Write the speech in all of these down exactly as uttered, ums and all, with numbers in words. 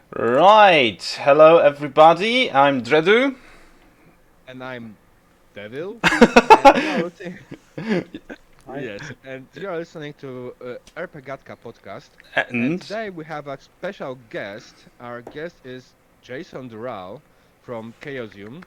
Right, hello everybody, I'm Dredu. And I'm Devil. And you are listening. Hi. Yes, and you are listening to uh, Erpegatka podcast. And And today we have a special guest. Our guest is Jason Dural from Chaosium.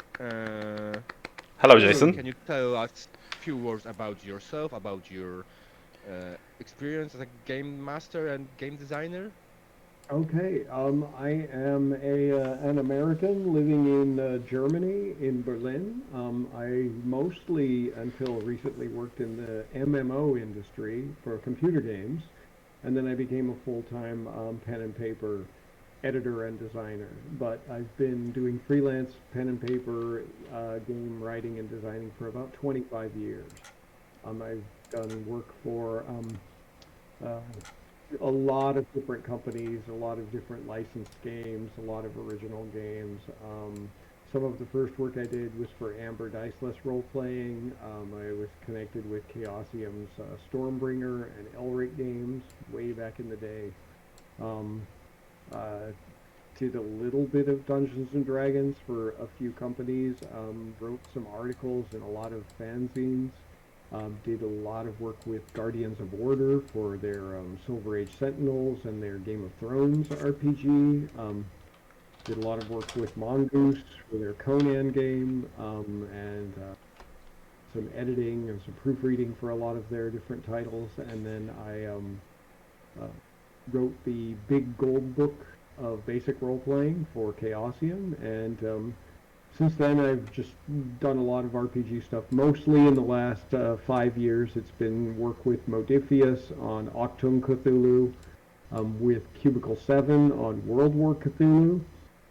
Uh, hello Jason, Jason. can you tell us a few words about yourself, about your uh, experience as a game master and game designer? Okay. Um, I am a uh, an American living in uh, Germany, in Berlin. Um, I mostly, until recently, worked in the M M O industry for computer games, and then I became a full-time um, pen and paper editor and designer. But I've been doing freelance pen and paper uh, game writing and designing for about twenty-five years. Um, I've done work for um, uh, a lot of different companies, a lot of different licensed games, a lot of original games. Um, some of the first work I did was for Amber Diceless Role Playing. Um, I was connected with Chaosium's uh, Stormbringer and Elric games way back in the day. Um, uh, did a little bit of Dungeons and Dragons for a few companies. Um, wrote some articles in a lot of fanzines. Um, did a lot of work with Guardians of Order for their um, Silver Age Sentinels and their Game of Thrones R P G. Um, did a lot of work with Mongoose for their Conan game, um, and uh, some editing and some proofreading for a lot of their different titles. And then I um, uh, wrote the big gold book of basic role playing for Chaosium, and um, since then, I've just done a lot of R P G stuff. Mostly in the last uh, five years, it's been work with Modiphius on Octum Cthulhu, um, with Cubicle seven on World War Cthulhu,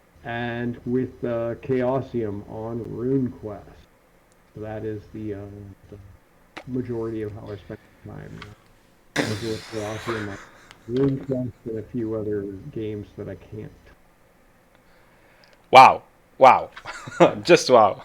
and with uh, Chaosium on RuneQuest. So that is the, uh, the majority of how I spend time. Working with Chaosium on RuneQuest and a few other games that I can't. wow, wow, just wow.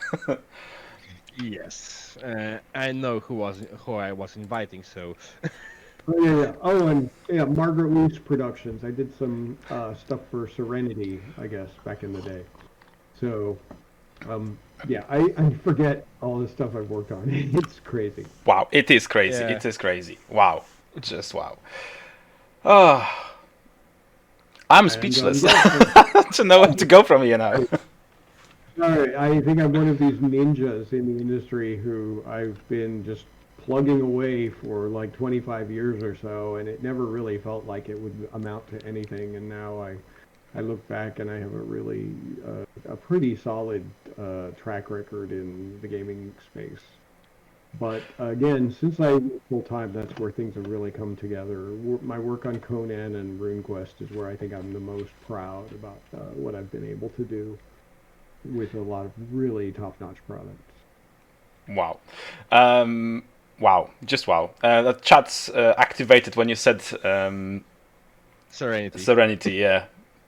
Yes, uh, I know who was who I was inviting, so Oh yeah, yeah. Oh, and yeah, Margaret Weis Productions. I did some uh, stuff for Serenity, I guess, back in the day. So, um, yeah, I, I forget all the stuff I've worked on. It's crazy. Wow, it is crazy, yeah. it is crazy. Wow, just wow. Oh, I'm And um, speechless yeah, so, to know where to go from here now. sorry, I think I'm one of these ninjas in the industry who I've been just plugging away for like twenty-five years or so, and it never really felt like it would amount to anything. And now I I look back and I have a really uh, a pretty solid uh, track record in the gaming space. But again, since I work full time, that's where things have really come together. Wo- My work on Conan and RuneQuest is where I think I'm the most proud about uh, what I've been able to do with a lot of really top-notch products. Wow, um, wow, just wow. Uh, the chat's uh, activated when you said um, Serenity. Serenity, yeah.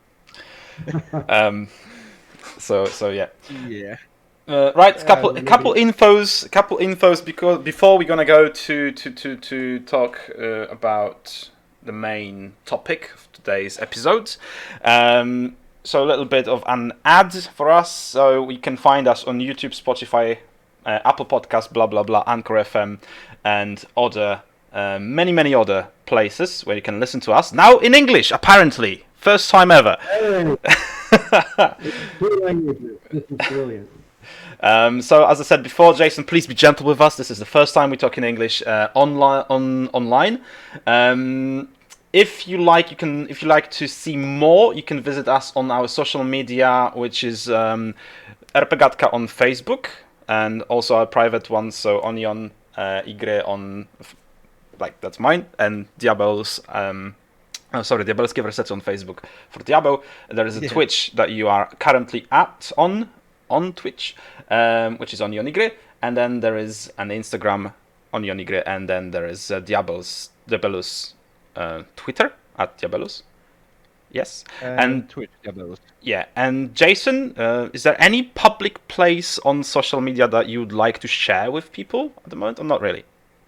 Um, so so yeah. Yeah. Uh, right, Uh, couple let me couple be. infos, couple infos because before we're gonna go to to to to talk uh, about the main topic of today's episode. Um, so a little bit of an ad for us. So you can find us on YouTube, Spotify, uh, Apple Podcasts, blah blah blah, Anchor F M, and other uh, many many other places where you can listen to us now in English. Apparently, first time ever. Hey, two languages. This is brilliant. Um, so as I said before, Jason, please be gentle with us. This is the first time we talk in English uh, online. On online, um, if you like, you can. If you like to see more, you can visit us on our social media, which is um, Erpegatka on Facebook, and also our private one. So Onion uh, Igre on, like that's mine, and Diablos. Um, Oh, sorry, Diabelskie Versety on Facebook for Diablo. There is a Yeah. Twitch that you are currently at on on Twitch, um, which is on Yonigre, and then there is an Instagram on Yonigre, and then there is uh, Diablos Diabelus uh, Twitter at Diabelus. Yes, And and Twitch, Diablos. yeah, and Jason, uh, is there any public place on social media that you would like to share with people at the moment, or not really?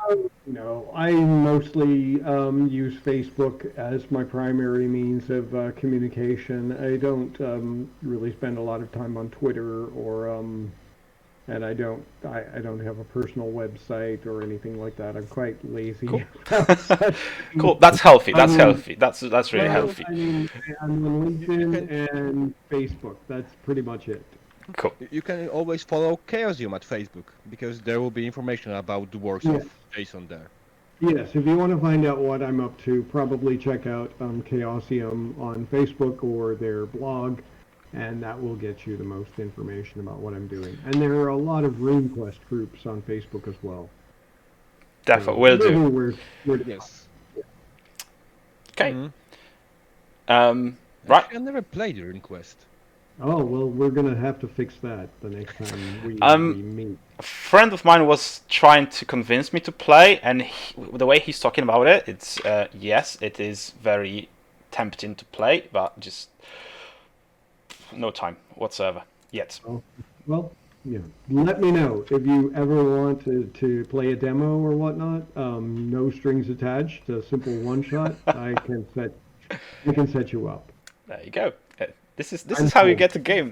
No, I mostly um, use Facebook as my primary means of uh, communication. I don't um, really spend a lot of time on Twitter or um, and I don't I, I don't have a personal website or anything like that. I'm quite lazy Cool. about such Cool. things. That's healthy. I That's mean, healthy. That's that's really well, healthy. I mean, I'm on You, you LinkedIn can and Facebook. That's pretty much it. Cool. you you can always follow Chaosium at Facebook because there will be information about the works Yeah. of Jason there. Yes, if you want to find out what I'm up to, probably check out um, Chaosium on Facebook or their blog, and that will get you the most information about what I'm doing. And there are a lot of RuneQuest groups on Facebook as well. Definitely So will do. everywhere, where- Yes. Okay. Mhm. Um. Right. Actually, I never played RuneQuest. Oh, well, we're gonna have to fix that the next time we, Um, we meet. A friend of mine was trying to convince me to play, and he, the way he's talking about it, it's uh, yes, it is very tempting to play, but just no time whatsoever yet. Oh, well, yeah. Let me know if you ever want to, to play a demo or whatnot. Um, no strings attached, a simple one shot. I can set I can set you up. There you go. Uh, This is this I'm is how you cool. get a game.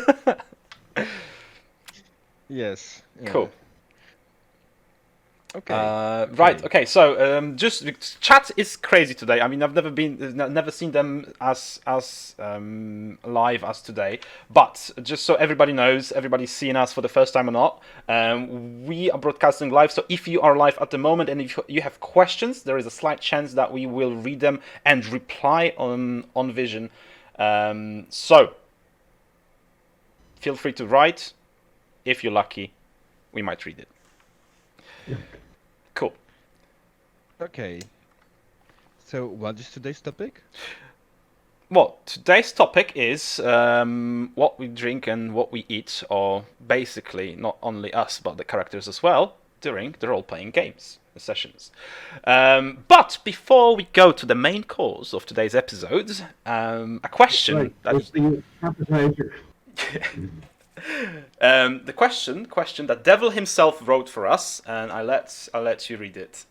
Yes. yeah. Cool. Okay. Uh, right. Okay. Okay. So, um, just chat is crazy today. I mean, I've never been, n- never seen them as as um, live as today. But just so everybody knows, everybody's seeing us for the first time or not. Um, we are broadcasting live. So if you are live at the moment and if you have questions, there is a slight chance that we will read them and reply on on Vision. Um, so feel free to write. If you're lucky, we might read it. Cool. Okay. So, what is today's topic? Well, today's topic is um, what we drink and what we eat, or basically not only us, but the characters as well, during the role-playing games, the sessions. Um, but before we go to the main course of today's episode, um, a question Right, that that's the appetizer. um, the question question that Devil himself wrote for us, and I let I let you read it.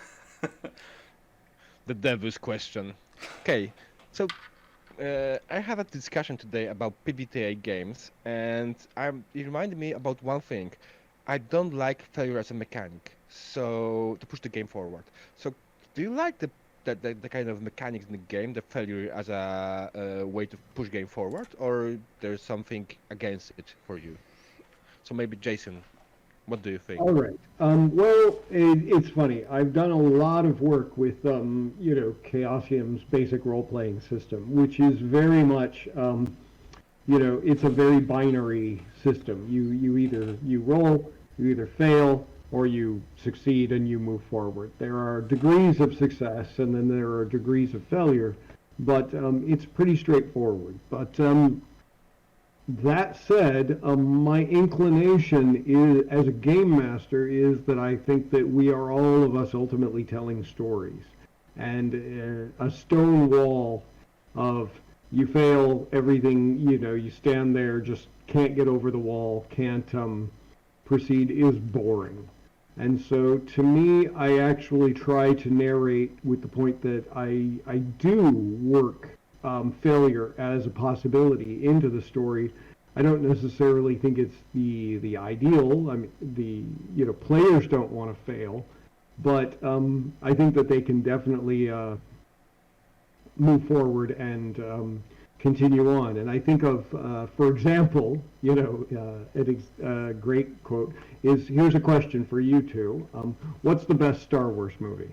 The devil's question. Okay. So, uh, I had a discussion today about P B T A games, and I'm, it reminded me about one thing. I don't like failure as a mechanic, so to push the game forward. So, do you like the the, the, the kind of mechanics in the game, the failure as a, a way to push game forward, or there's something against it for you? So maybe Jason, what do you think? All right. Um, well, it, it's funny. I've done a lot of work with, um, you know, Chaosium's basic role-playing system, which is very much, um, you know, it's a very binary system. You you either you roll, you either fail, or you succeed and you move forward. There are degrees of success, and then there are degrees of failure, but um, it's pretty straightforward. But um, that said, um, my inclination is, as a game master, is that I think that we are all of us ultimately telling stories, and uh, a stone wall of you fail everything, you know, you stand there, just can't get over the wall, can't um, proceed, is boring. And so, to me, I actually try to narrate with the point that I I do work um, failure as a possibility into the story. I don't necessarily think it's the the ideal. I mean, the you know players don't want to fail, but um, I think that they can definitely uh, move forward and um, continue on. And I think of, uh, for example, you know, uh, a ex- uh, great quote is, here's a question for you two. Um, what's the best Star Wars movie?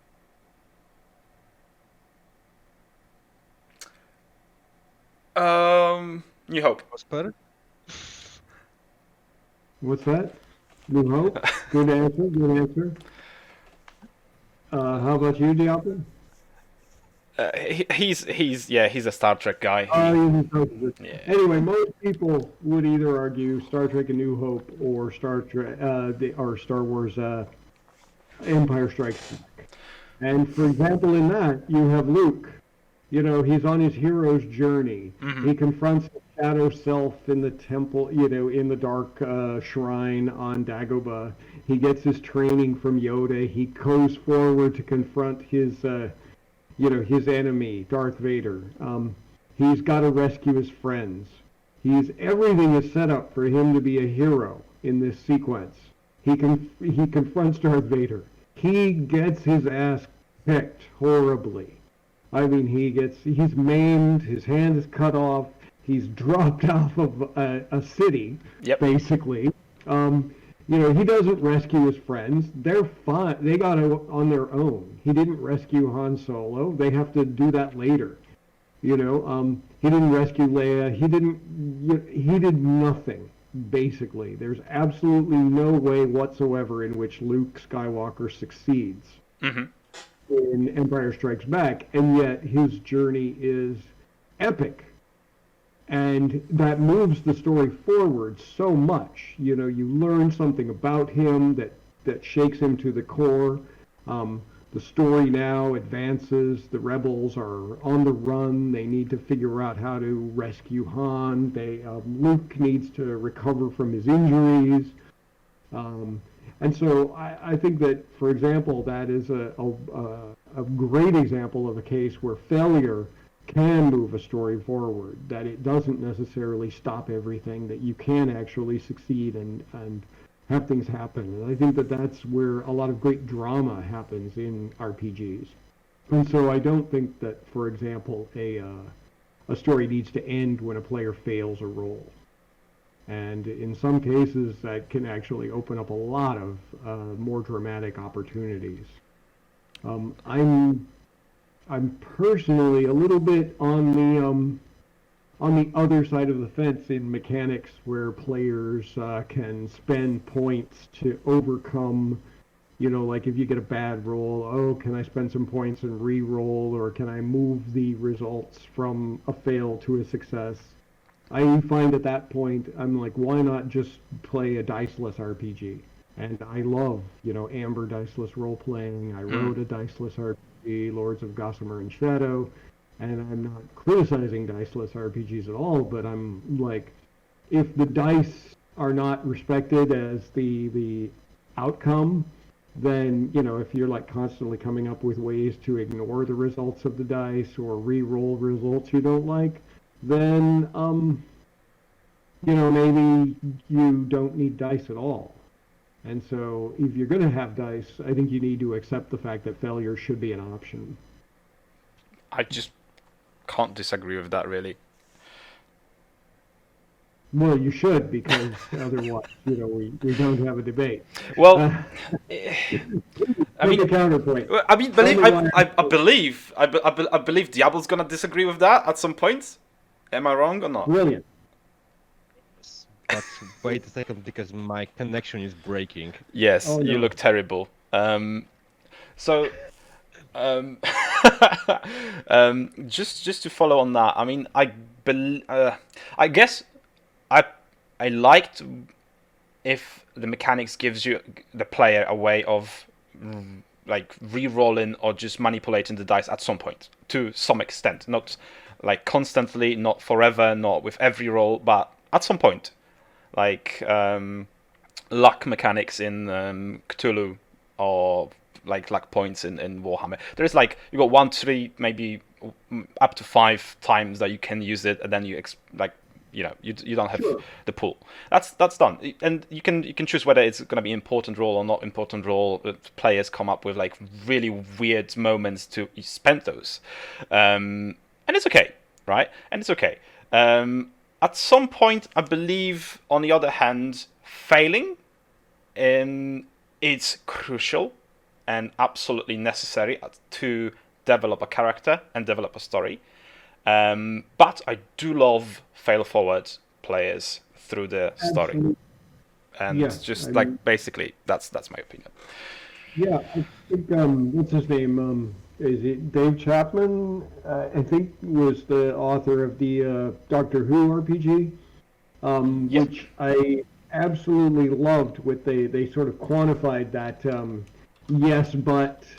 Um, New Hope. Prosper? What's that? New Hope? Good answer, good answer. Uh, how about you, Diablo? Uh, he, he's he's yeah he's a Star Trek guy. He- Uh, you can- yeah. Anyway, most people would either argue Star Trek: A New Hope or Star Trek uh, the, or Star Wars uh, Empire Strikes Back. And for example, in that you have Luke You know, he's on his hero's journey. Mhm. He confronts the shadow self in the temple, you know, in the dark uh, shrine on Dagobah. He gets his training from Yoda. He goes forward to confront his, uh, you know, his enemy, Darth Vader. Um, he's got to rescue his friends. He's everything is set up for him to be a hero in this sequence. He con- he confronts Darth Vader. He gets his ass kicked horribly. I mean, he gets, he's maimed, his hand is cut off, he's dropped off of a, a city, Yep. basically. Um, you know, he doesn't rescue his friends. They're fine. They got it on their own. He didn't rescue Han Solo. They have to do that later. You know, um, he didn't rescue Leia. He didn't, you, he did nothing, basically. There's absolutely no way whatsoever in which Luke Skywalker succeeds. Mm-hmm. In Empire Strikes Back, and yet his journey is epic, and that moves the story forward so much. You know, you learn something about him that that shakes him to the core. Um, the story now advances. The rebels are on the run. They need to figure out how to rescue Han. They um, Luke needs to recover from his injuries. Um, And so I, I think that, for example, that is a, a, a great example of a case where failure can move a story forward, that it doesn't necessarily stop everything, that you can actually succeed and, and have things happen. And I think that that's where a lot of great drama happens in R P Gs. And so I don't think that, for example, a, uh, a story needs to end when a player fails a role. And in some cases, that can actually open up a lot of uh, more dramatic opportunities. Um, I'm, I'm personally a little bit on the um, on the other side of the fence in mechanics, where players uh, can spend points to overcome. You know, like if you get a bad roll, oh, can I spend some points and re-roll, or can I move the results from a fail to a success? I find at that point, I'm like, why not just play a diceless R P G? And I love, you know, Amber diceless role-playing. I wrote a diceless R P G, Lords of Gossamer and Shadow, and I'm not criticizing diceless R P Gs at all, but I'm like, if the dice are not respected as the the outcome, then, you know, if you're like constantly coming up with ways to ignore the results of the dice or re-roll results you don't like, then, um, you know, maybe you don't need dice at all. And so if you're going to have dice, I think you need to accept the fact that failure should be an option. I just can't disagree with that, really. Well, you should, because otherwise, you know, we, we don't have a debate. Well, Uh, I mean, a counterpoint. Well, I mean, believe Tell me I, why- I, I believe I, be- I, be- I believe Diablo's gonna disagree with that at some point. Am I wrong or not? Brilliant. But wait a second, because my connection is breaking. Yes, Oh, you no. look terrible. Um, so, um, um, just just to follow on that, I mean, I bel uh, I guess I I liked if the mechanics gives you the player a way of mm, like re-rolling or just manipulating the dice at some point to some extent, not like constantly, not forever, not with every roll, but at some point, like um, luck mechanics in um, Cthulhu or like luck points in, in Warhammer. There's like you got one, three, maybe mm, up to five times that you can use it, and then you ex- like you know you you don't have Sure. the pool. That's that's done, and you can you can choose whether it's going to be important role or not important role. Players come up with like really weird moments to spend those, um, and it's okay, right? And it's okay. Um, at some point, I believe, on the other hand, failing, um, it's crucial and absolutely necessary to develop a character and develop a story. Um, but I do love fail forward players through the story, Absolutely. and Yeah, just I like mean- basically that's that's my opinion. Yeah, I think, um, what's his name? Um, is it Dave Chapman? Uh, I think was the author of the uh, Doctor Who R P G, um, Yeah. which I absolutely loved. What they they sort of quantified that um, yes, but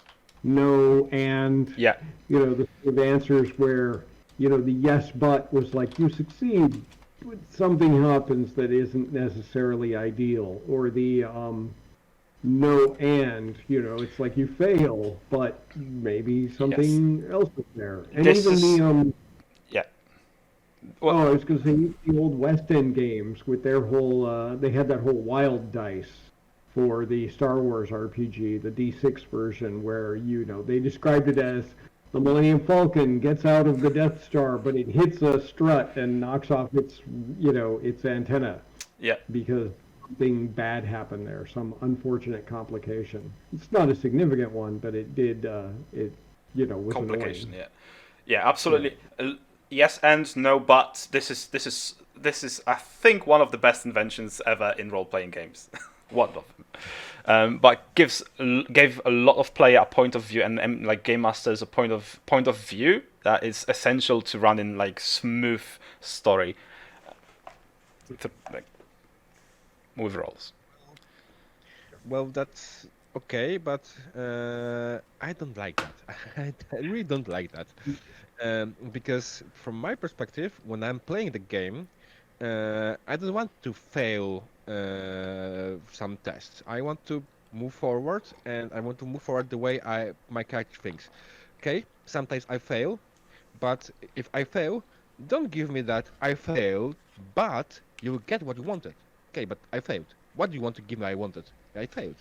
no, and Yeah. you know the sort of answers where you know the yes but was like you succeed, but something happens that isn't necessarily ideal, or the um, no and you know it's like you fail, but maybe Yes. something else is there, and This even the is um. yeah. Oh, Well, I was going to say the old West End games with their whole. Uh, they had that whole wild dice for the Star Wars R P G, the D six version, where you know they described it as the Millennium Falcon gets out of the Death Star, but it hits a strut and knocks off its you know its antenna yeah. because something bad happened there, some unfortunate complication. It's not a significant one, but it did. Uh, it you know was Complication. annoying. Yeah. Yeah. Yeah. Absolutely. Uh, yes and no, but this is this is this is I think one of the best inventions ever in role playing games. One of them. Um, but gives gave a lot of player a point of view and, and like game masters a point of point of view that is essential to run in like smooth story to like with roles. Well, that's okay, but uh, I don't like that. I I really don't like that. Um, because from my perspective, when I'm playing the game, uh, I don't want to fail uh, some tests. I want to move forward, and I want to move forward the way I my character thinks. Okay, sometimes I fail, but if I fail, don't give me that I failed, but you will get what you wanted. Okay, but I failed. What do you want to give me? I wanted. I failed.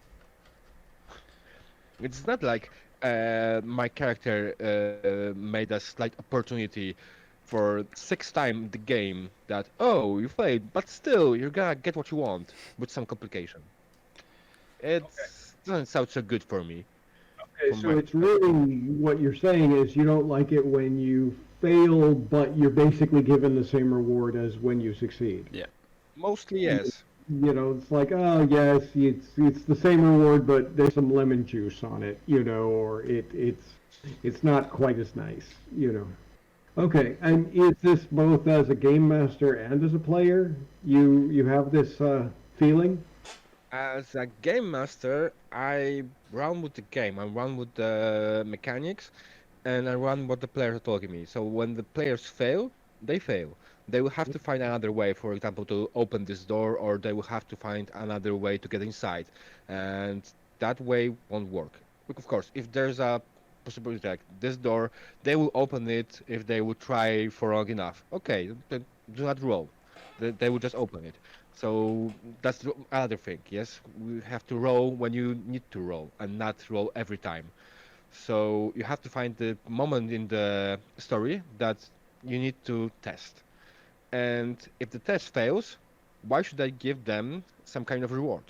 It's not like uh, my character uh, made a slight opportunity for sixth time the game that it you failed, but still you're gonna get what you want with some complication. It doesn't sound so good for me Okay, from so my it's perspective. really what you're saying is you don't like it when you fail, but you're basically given the same reward as when you succeed. Yeah. Mostly You yes. you know, it's like, oh yes, it's it's the same reward, but there's some lemon juice on it, you know, or it it's it's not quite as nice, you know. Okay, and is this both as a game master and as a player? You you have this uh, feeling? As a game master, I run with the game. I run with the mechanics, and I run what the players are telling me. So when the players fail, they fail. They will have to find another way, for example, to open this door, or they will have to find another way to get inside, and that way won't work. Bec- Of course, if there's a possibility like this door, they will open it if they will try for long enough. Okay, then do not roll. They, they will just open it. So that's the other thing. Yes, we have to roll when you need to roll, and not roll every time. So you have to find the moment in the story that you need to test. And if the test fails, why should I give them some kind of reward?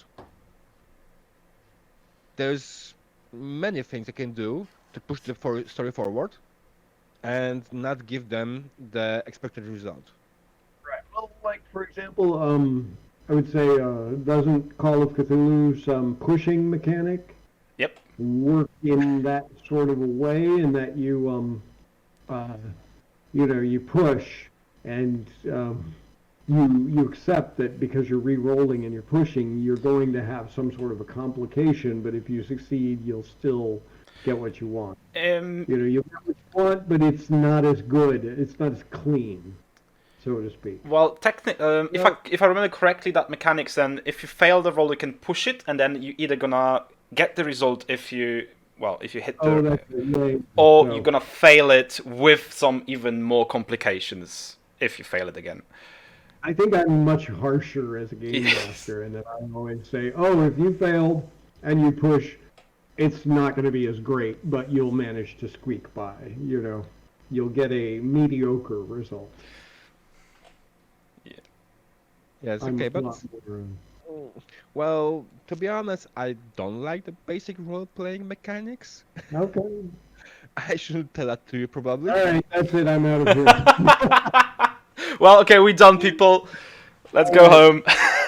There's many things I can do to push the for story forward and not give them the expected result. Right. Well, like for example, um, I would say, uh, doesn't Call of Cthulhu's um, pushing mechanic Yep. work in that sort of a way, in that you, um, uh, you know, you push and um, you you accept that because you're re-rolling and you're pushing, you're going to have some sort of a complication, but if you succeed, you'll still get what you want. Um. You know, you get what you want, but it's not as good. It's not as clean, so to speak. Well, techni- um, if I Well, if I remember correctly, that mechanics then if you fail the roll, you can push it, and then you either gonna get the result if you well if you hit Oh, the that's it. Yeah, yeah. or you're So gonna fail it with some even more complications if you fail it again. I think I'm much harsher as a game Yes. master, and that I always say, "Oh, if you failed and you push, it's not going to be as great, but you'll manage to squeak by. You know, you'll get a mediocre result." Yeah. yes, I'm okay, a but lot more. uh, mm, well, to be honest, I don't like the basic role-playing mechanics. Okay. I shouldn't tell that to you probably. All right, that's it. I'm out of here. Well, okay, we done, people. Let's All go right. home.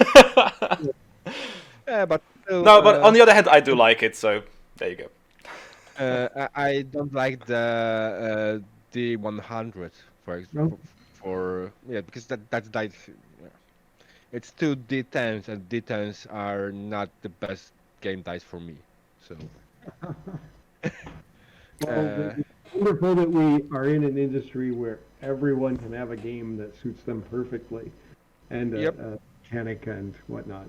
Yeah, but still, No, but uh, on the other hand, I do like it. So there you go. uh, I I don't like the uh, D one hundred for ex- No. for, for yeah because that that's dice. Yeah. It's two D tens and D tens are not the best game dice for me. So Well, Uh, it's wonderful that we are in an industry where everyone can have a game that suits them perfectly, and a, yep. a mechanic and whatnot.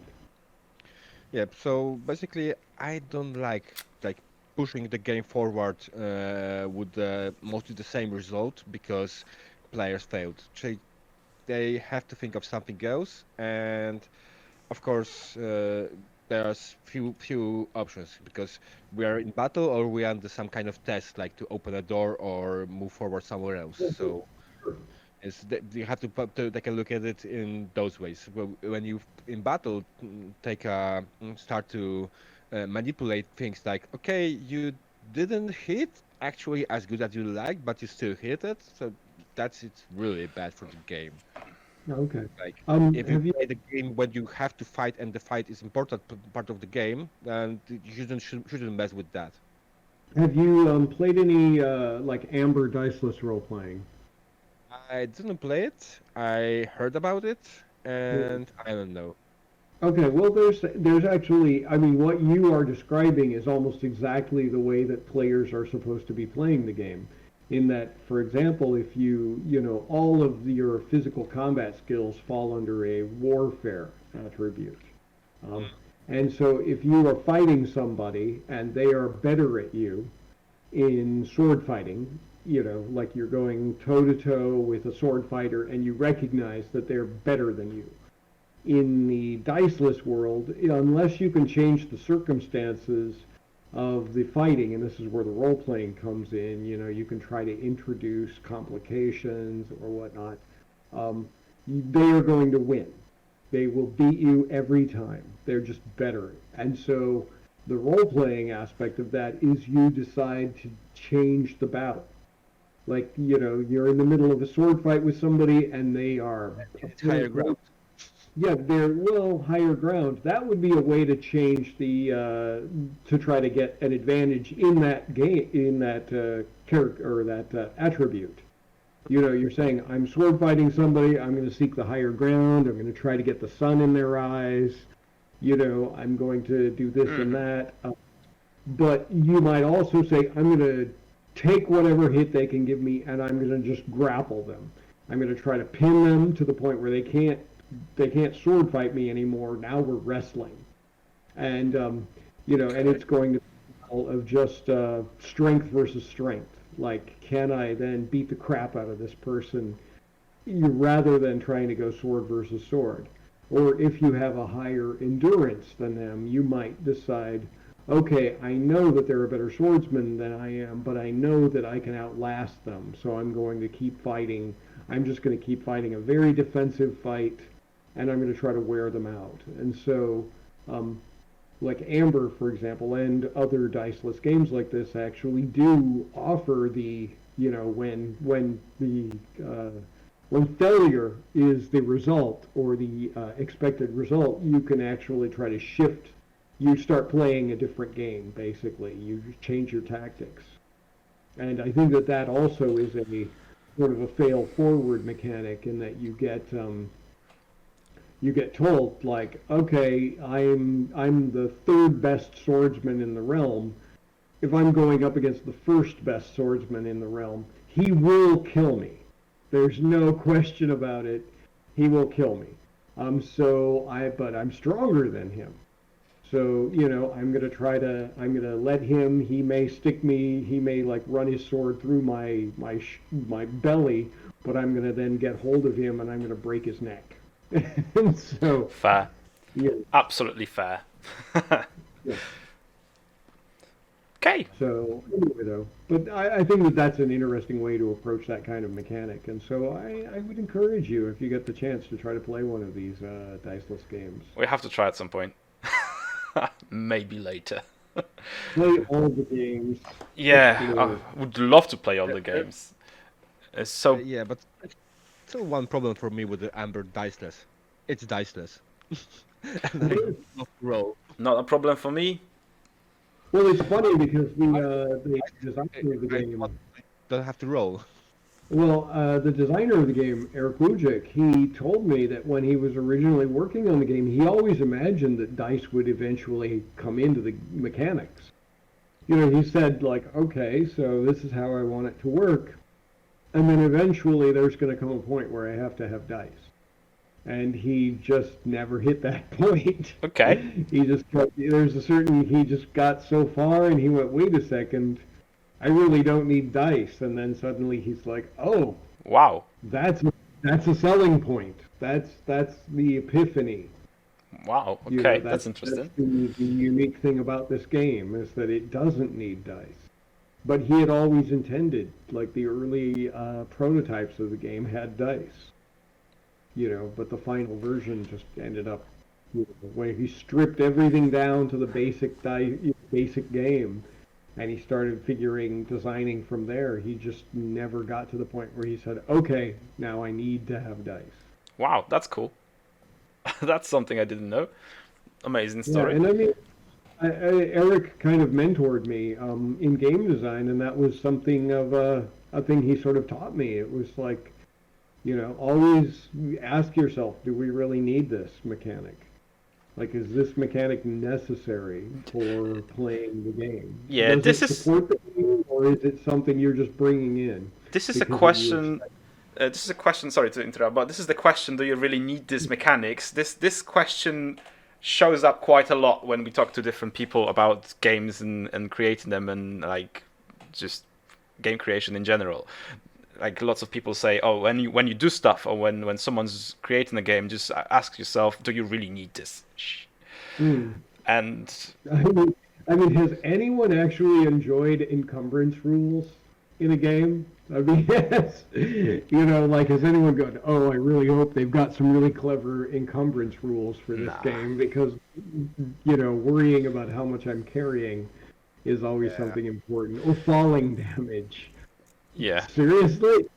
Yep. So basically, I don't like like pushing the game forward uh, with uh, mostly the same result because players failed. They they have to think of something else, and of course, uh, there's few few options because we are in battle or we are under some kind of test, like to open a door or move forward somewhere else. So it's th- you have to, put, to take a look at it in those ways. Well, when you in battle mm, take a mm, start to uh, manipulate things like, okay, you didn't hit actually as good as you like, but you still hit it. So that's it's really bad for the game. Okay. Like, Um, if you have you play the game when you have to fight and the fight is important p- part of the game, then you shouldn't shouldn't shouldn't mess with that. have you um, played any uh, like Amber Diceless role playing? I didn't play it. I heard about it, and I don't know. Okay, well, there's there's actually, I mean, what you are describing is almost exactly the way that players are supposed to be playing the game. In that, for example, if you, you know, all of your physical combat skills fall under a warfare attribute. Um, and so if you are fighting somebody and they are better at you in sword fighting, you know, like you're going toe to toe with a sword fighter and you recognize that they're better than you in the diceless world, unless you can change the circumstances of the fighting, and this is where the role playing comes in, you know, you can try to introduce complications or whatnot. Um, they are going to win. They will beat you every time. They're just better. And so the role playing aspect of that is you decide to change the battle. Like, you know, you're in the middle of a sword fight with somebody and they are a It's higher point ground. yeah, they're well higher ground. That would be a way to change the uh, to try to get an advantage in that game in that uh, character or that uh, attribute. You know, you're saying I'm sword fighting somebody. I'm going to seek the higher ground. I'm going to try to get the sun in their eyes. You know, I'm going to do this and Mhm. that. Uh, but you might also say I'm going to take whatever hit they can give me, and I'm going to just grapple them. I'm going to try to pin them to the point where they can't they can't sword fight me anymore. Now we're wrestling, and um, you know, and Okay. it's going to be all of just uh, strength versus strength. Like, can I then beat the crap out of this person, you, rather than trying to go sword versus sword? Or if you have a higher endurance than them, you might decide, okay, I know that they're a better swordsman than I am, but I know that I can outlast them, so I'm going to keep fighting. I'm just going to keep fighting a very defensive fight, and I'm going to try to wear them out. And so, um, like Amber, for example, and other diceless games like this actually do offer the, you know, when when the uh, when failure is the result or the uh, expected result, you can actually try to shift. You start playing a different game, basically. You change your tactics. And I think that that also is a sort of a fail forward mechanic in that you get um, you get told like, okay, I'm I'm the third best swordsman in the realm. If I'm going up against the first best swordsman in the realm, he will kill me. There's no question about it. He will kill me. Um, so I, but I'm stronger than him. So, you know, I'm going to try to, I'm going to let him, he may stick me, he may like run his sword through my, my, my belly, but I'm going to then get hold of him and I'm going to break his neck. And so, Fair. yeah, Absolutely fair. yeah. Okay. So anyway, though, but I, I think that that's an interesting way to approach that kind of mechanic, and so I, I would encourage you if you get the chance to try to play one of these uh, diceless games. We have to try at some point. Maybe later. Play all the games, Yeah, explore. I would love to play all There, the there, games. It's uh, so yeah, but it's still one problem for me with the Amber Diceless. It's diceless, and I Well, love to roll. not a problem for me. well, it's funny because the I, uh, the I, designer of the I thought game, I don't have to roll. well, uh, the designer of the game, Eric Wujik, he told me that when he was originally working on the game, he always imagined that dice would eventually come into the mechanics. you know, he said like, okay, so this is how I want it to work, and then eventually there's going to come a point where I have to have dice. And he just never hit that point. Okay. He just got, there's a certain, he just got so far and he went, wait a second, I really don't need dice. And then suddenly he's like, oh, Wow. that's that's a selling point. That's that's the epiphany. Wow. You know, Okay, that's interesting. That's the, the unique thing about this game is that it doesn't need dice. But he had always intended, like the early uh, prototypes of the game had dice. You know, but the final version just ended up you know, where he stripped everything down to the basic di- basic game, and he started figuring designing from there. He just never got to the point where he said, "Okay, now I need to have dice." Wow, that's cool. That's something I didn't know. Amazing Yeah, story. and I mean, I, I, Eric kind of mentored me um, in game design, and that was something of a a thing he sort of taught me. It was like, you know, always ask yourself, do we really need this mechanic? Like, is this mechanic necessary for playing the game? Yeah, Does this it is support the game, or is it something you're just bringing in this is a because of your question. Uh, this is a question. Sorry to interrupt, but this is the question: do you really need these mechanics? This this question shows up quite a lot when we talk to different people about games and, and creating them and like just game creation in general. Like lots of people say, oh, when you when you do stuff or when, when someone's creating a game, just ask yourself, do you really need this? Hmm. And I mean, I mean, has anyone actually enjoyed encumbrance rules in a game? I mean, yes. You know, like, has anyone gone, oh, I really hope they've got some really clever encumbrance rules for this Nah. game because, you know, worrying about how much I'm carrying is always Yeah. something important. Or falling damage. yeah, Seriously?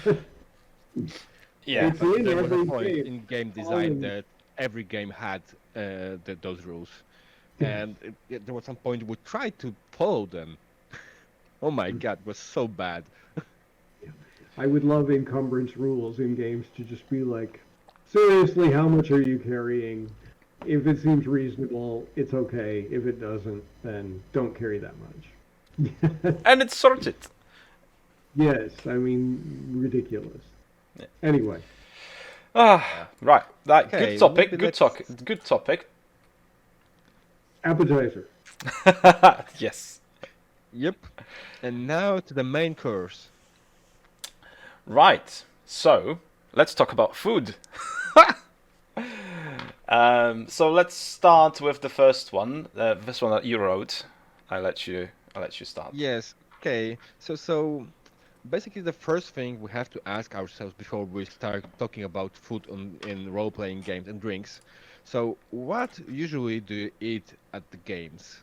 yeah, It's But in there was a every point game. in game design Falling- that every game had uh, th- those rules, and it, it- there was some point we tried to follow them. Oh my god, it was so bad. I would love encumbrance rules in games to just be like, seriously, how much are you carrying? If it seems reasonable, it's okay. If it doesn't, then don't carry that much. and it's sorted. Yes, I mean, ridiculous. Yeah. Anyway, Ah, right. That Okay, good topic. maybe Good let's- talk. Good topic. appetizer. Yes. Yep. And now to the main course. Right. So let's talk about food. um, so let's start with the first one. Uh, this one that you wrote. I let you. I let you start. Yes. Okay. So so basically the first thing we have to ask ourselves before we start talking about food on, in role-playing games and drinks. So what usually do you eat at the games?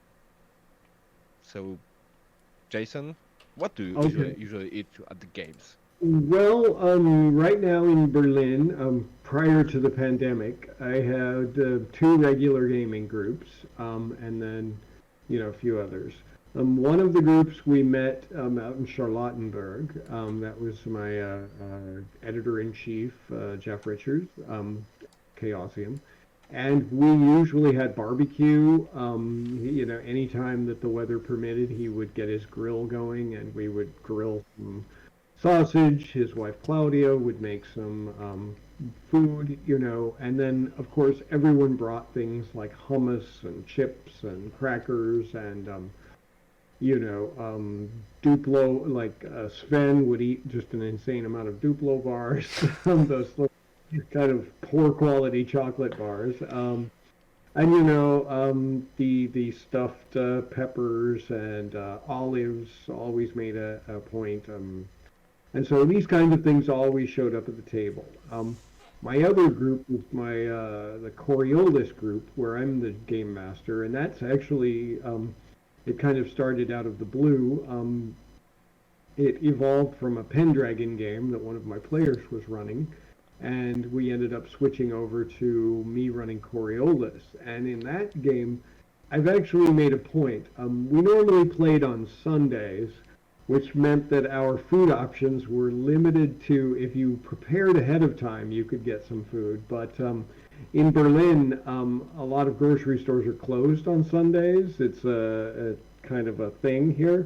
So Jason, what do you Okay. usually, usually eat at the games? Well, um, right now in Berlin, um, prior to the pandemic, I had uh, two regular gaming groups, um, and then, you know, a few others. Um, one of the groups we met um, out in Charlottenburg. Um, that was my uh, uh, editor-in-chief, uh, Jeff Richards, um, Chaosium. And we usually had barbecue. Um, he- you know, anytime that the weather permitted, he would get his grill going, and we would grill some sausage. His wife Claudia would make some um, food, you know, and then of course everyone brought things like hummus and chips and crackers and um, you know um, Duplo. Like uh, Sven would eat just an insane amount of Duplo bars, those little kind of poor quality chocolate bars. Um, and you know, um, the the stuffed uh, peppers and uh, olives always made a, a point. Um, and so these kinds of things always showed up at the table. Um, my other group was my uh, the Coriolis group, where I'm the game master, and that's actually um, it kind of started out of the blue. Um, it evolved from a Pendragon game that one of my players was running, and we ended up switching over to me running Coriolis. And in that game, I've actually made a point. Um, we normally played on Sundays, which meant that our food options were limited to, if you prepared ahead of time, you could get some food. But um, in Berlin, um, a lot of grocery stores are closed on Sundays. It's a, kind of a thing here.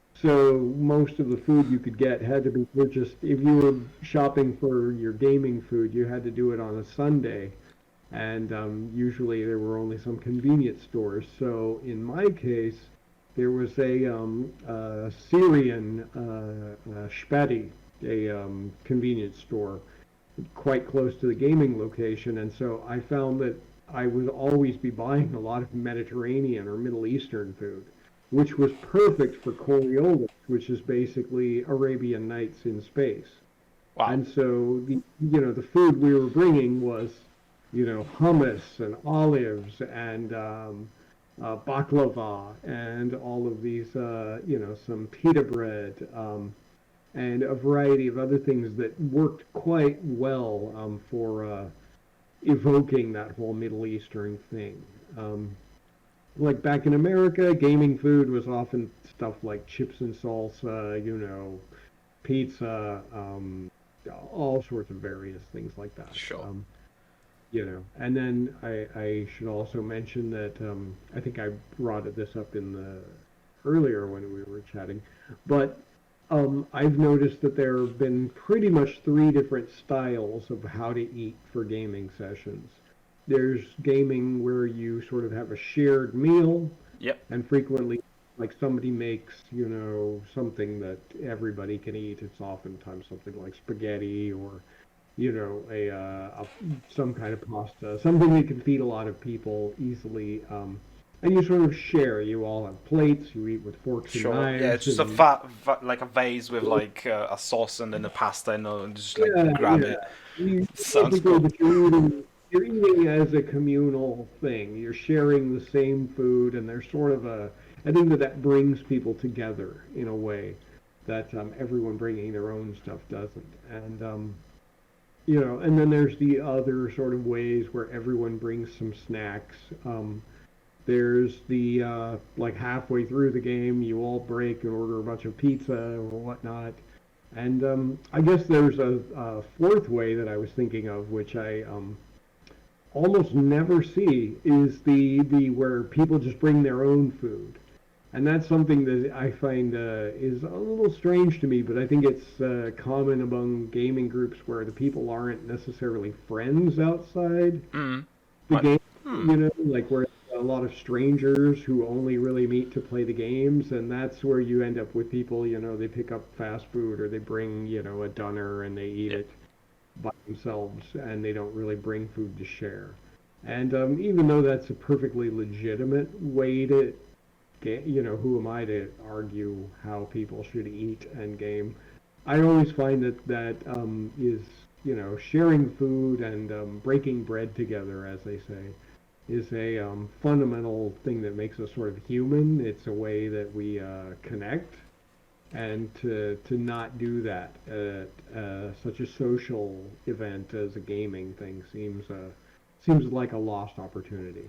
So most of the food you could get had to be purchased. If you were shopping for your gaming food, you had to do it on a Sunday. And um, usually there were only some convenience stores. So in my case, there was a um, uh, Syrian uh, uh, Spati, a um, convenience store quite close to the gaming location. And so I found that I would always be buying a lot of Mediterranean or Middle Eastern food, which was perfect for Coriolis, which is basically Arabian Nights in space. Wow. And so the you know the food we were bringing was you know hummus and olives and um, uh, baklava and all of these uh, you know some pita bread um, and a variety of other things that worked quite well um, for uh, evoking that whole Middle Eastern thing. Um, like back in America, gaming food was often stuff like chips and salsa, you know, pizza, um, all sorts of various things like that. Sure. Um, you know, and then I, I should also mention that um, I think I brought this up in the earlier when we were chatting, but um, I've noticed that there have been pretty much three different styles of how to eat for gaming sessions. There's gaming where you sort of have a shared meal, Yep. and frequently, like somebody makes, you know, something that everybody can eat. It's oftentimes something like spaghetti or, you know, a, uh, a some kind of pasta, something that can feed a lot of people easily. Um, and you sort of share. You all have plates. You eat with forks Sure. and knives. Yeah, it's just a and- va- va- like a vase with like uh, a sauce and then the pasta and uh, just like Yeah, grab yeah. it. You, Sounds basically, cool. but you're eating, you're eating as a communal thing. You're sharing the same food, and there's sort of a. I think that that brings people together in a way that um, everyone bringing their own stuff doesn't. And um, you know, and then there's the other sort of ways where everyone brings some snacks. Um, there's the uh, like halfway through the game, you all break and order a bunch of pizza or whatnot. And um, I guess there's a, a fourth way that I was thinking of, which I um, almost never see, is the the where people just bring their own food. And that's something that I find uh, is a little strange to me, but I think it's uh, common among gaming groups where the people aren't necessarily friends outside Mm. the Right. game, Hmm. you know, like where a lot of strangers who only really meet to play the games, and that's where you end up with people, you know, they pick up fast food or they bring, you know, a doner and they eat Yeah. it by themselves and they don't really bring food to share. And um, even though that's a perfectly legitimate way to ga- you know, who am I to argue how people should eat and game? I always find that that um, is, you know, sharing food and um, breaking bread together, as they say, is a um, fundamental thing that makes us sort of human. It's a way that we uh, connect, and to to not do that at uh, such a social event as a gaming thing seems uh, seems like a lost opportunity.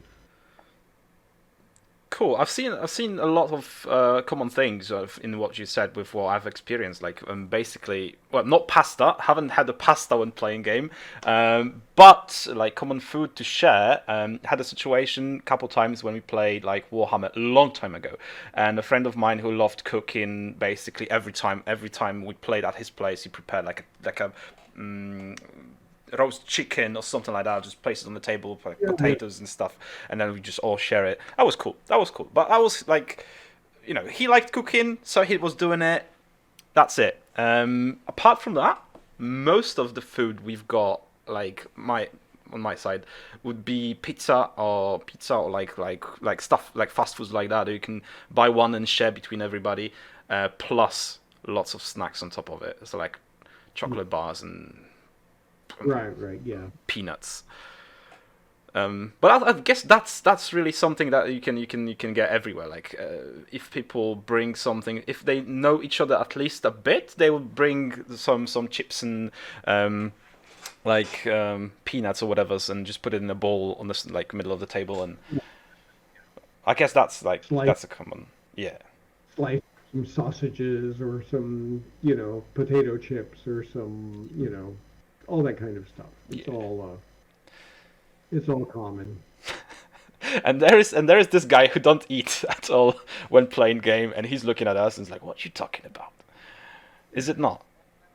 Cool. I've seen I've seen a lot of uh, common things of, in what you said with what I've experienced. Like um, basically, well, not pasta. Haven't had a pasta when playing game, um, but like common food to share. Um, had a situation a couple times when we played like Warhammer a long time ago, and a friend of mine who loved cooking. Basically, every time every time we played at his place, he prepared like a, like a. Um, roast chicken or something like that. Just place it on the table, like Yeah, potatoes and stuff, and then we just all share it. That was cool. That was cool. But I was like, you know, he liked cooking, so he was doing it. That's it. Um, apart from that, most of the food we've got, like my on my side, would be pizza or pizza or like like like stuff like fast foods like that. You can buy one and share between everybody, uh, plus lots of snacks on top of it. So like chocolate bars and Right, right, yeah. peanuts. Um, but I, I guess that's that's really something that you can you can you can get everywhere. Like uh, if people bring something, if they know each other at least a bit, they will bring some some chips and um, like um, peanuts or whatever, and just put it in a bowl on the s- like middle of the table. And I guess that's like Slice, that's a common, yeah. slice some sausages or some, you know, potato chips or some, you know, all that kind of stuff. It's Yeah. all uh, it's all common. and there is and there is this guy who don't eat at all when playing game, and he's looking at us and he's like, "What you talking about? Is it not?"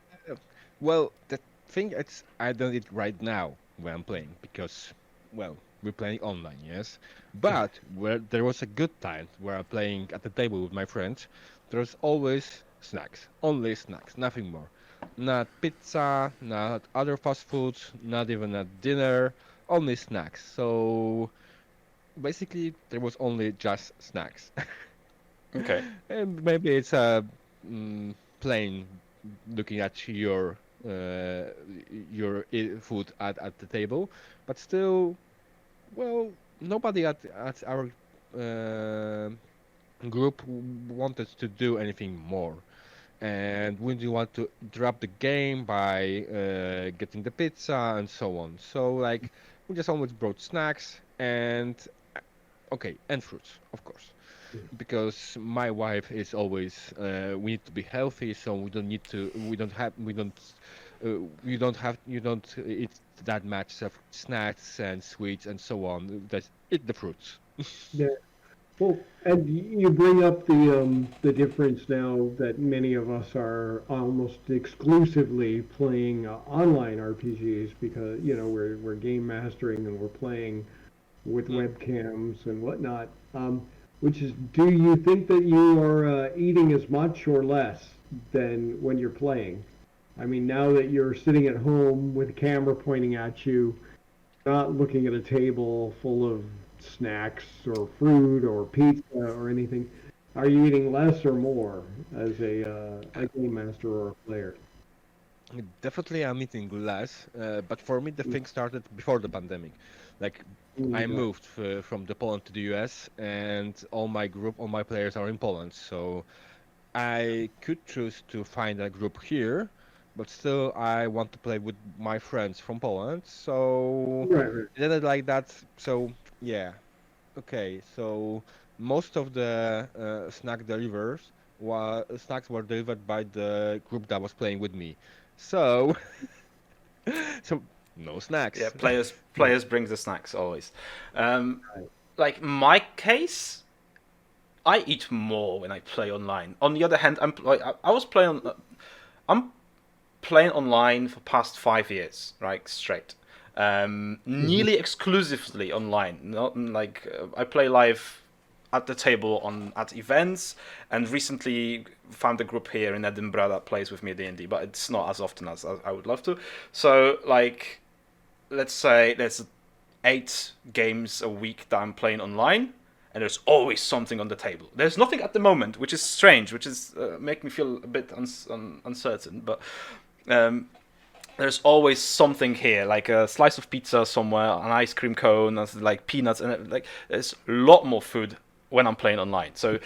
Well, the thing is, I don't eat right now when I'm playing because, well, we're playing online, yes. But where there was a good time where I'm playing at the table with my friends, there's always snacks, only snacks, nothing more. Not pizza, not other fast foods, not even at dinner, only snacks. So basically, there was only just snacks. Okay. And maybe it's a mm, plain looking at your uh, your i- food at, at the table, but still, well, nobody at at our uh, group w- wanted to do anything more, and we didn't want to drop the game by uh, getting the pizza and so on. So like, we just always brought snacks and uh, okay, and fruits, of course because my wife is always uh, we need to be healthy so we don't need to we don't have we don't uh, you don't have you don't eat that much of snacks and sweets and so on just eat the fruits. Yeah. Well, and y- you bring up the um, the difference now that many of us are almost exclusively playing uh, online R P Gs because you know we're we're game mastering and we're playing with Mm. webcams and whatnot. Um, which is, do you think that you are uh, eating as much or less than when you're playing? I mean, now that you're sitting at home with a camera pointing at you, not looking at a table full of snacks or fruit or pizza or anything. Are you eating less or more as a uh, a game master or a player? Definitely I'm eating less, uh, but for me the thing started before the pandemic. Like I Mm, moved uh, from the Poland to the U S and all my group all my players are in Poland so I could choose to find a group here, but still I want to play with my friends from Poland. So right, right. I did it like that. So yeah, okay. So most of the uh, snack delivers wa snacks were delivered by the group that was playing with me. So so no Yeah, snacks. players Yeah, players brings the snacks always. Um, right. like my case, I eat more when I play online. On the other hand, I'm like I, I was playing. I'm playing online for past five years, right, straight. Um, Mhm. nearly exclusively online. Not like uh, I play live at the table on at events, and recently found a group here in Edinburgh that plays with me D and D, but it's not as often as I would love to. So like, let's say there's eight games a week that I'm playing online, and there's always something on the table. There's nothing at the moment, which is strange, which is uh, make me feel a bit uns- un- uncertain, but um, there's always something here, like a slice of pizza somewhere, an ice cream cone, like peanuts, and like there's a lot more food when I'm playing online. So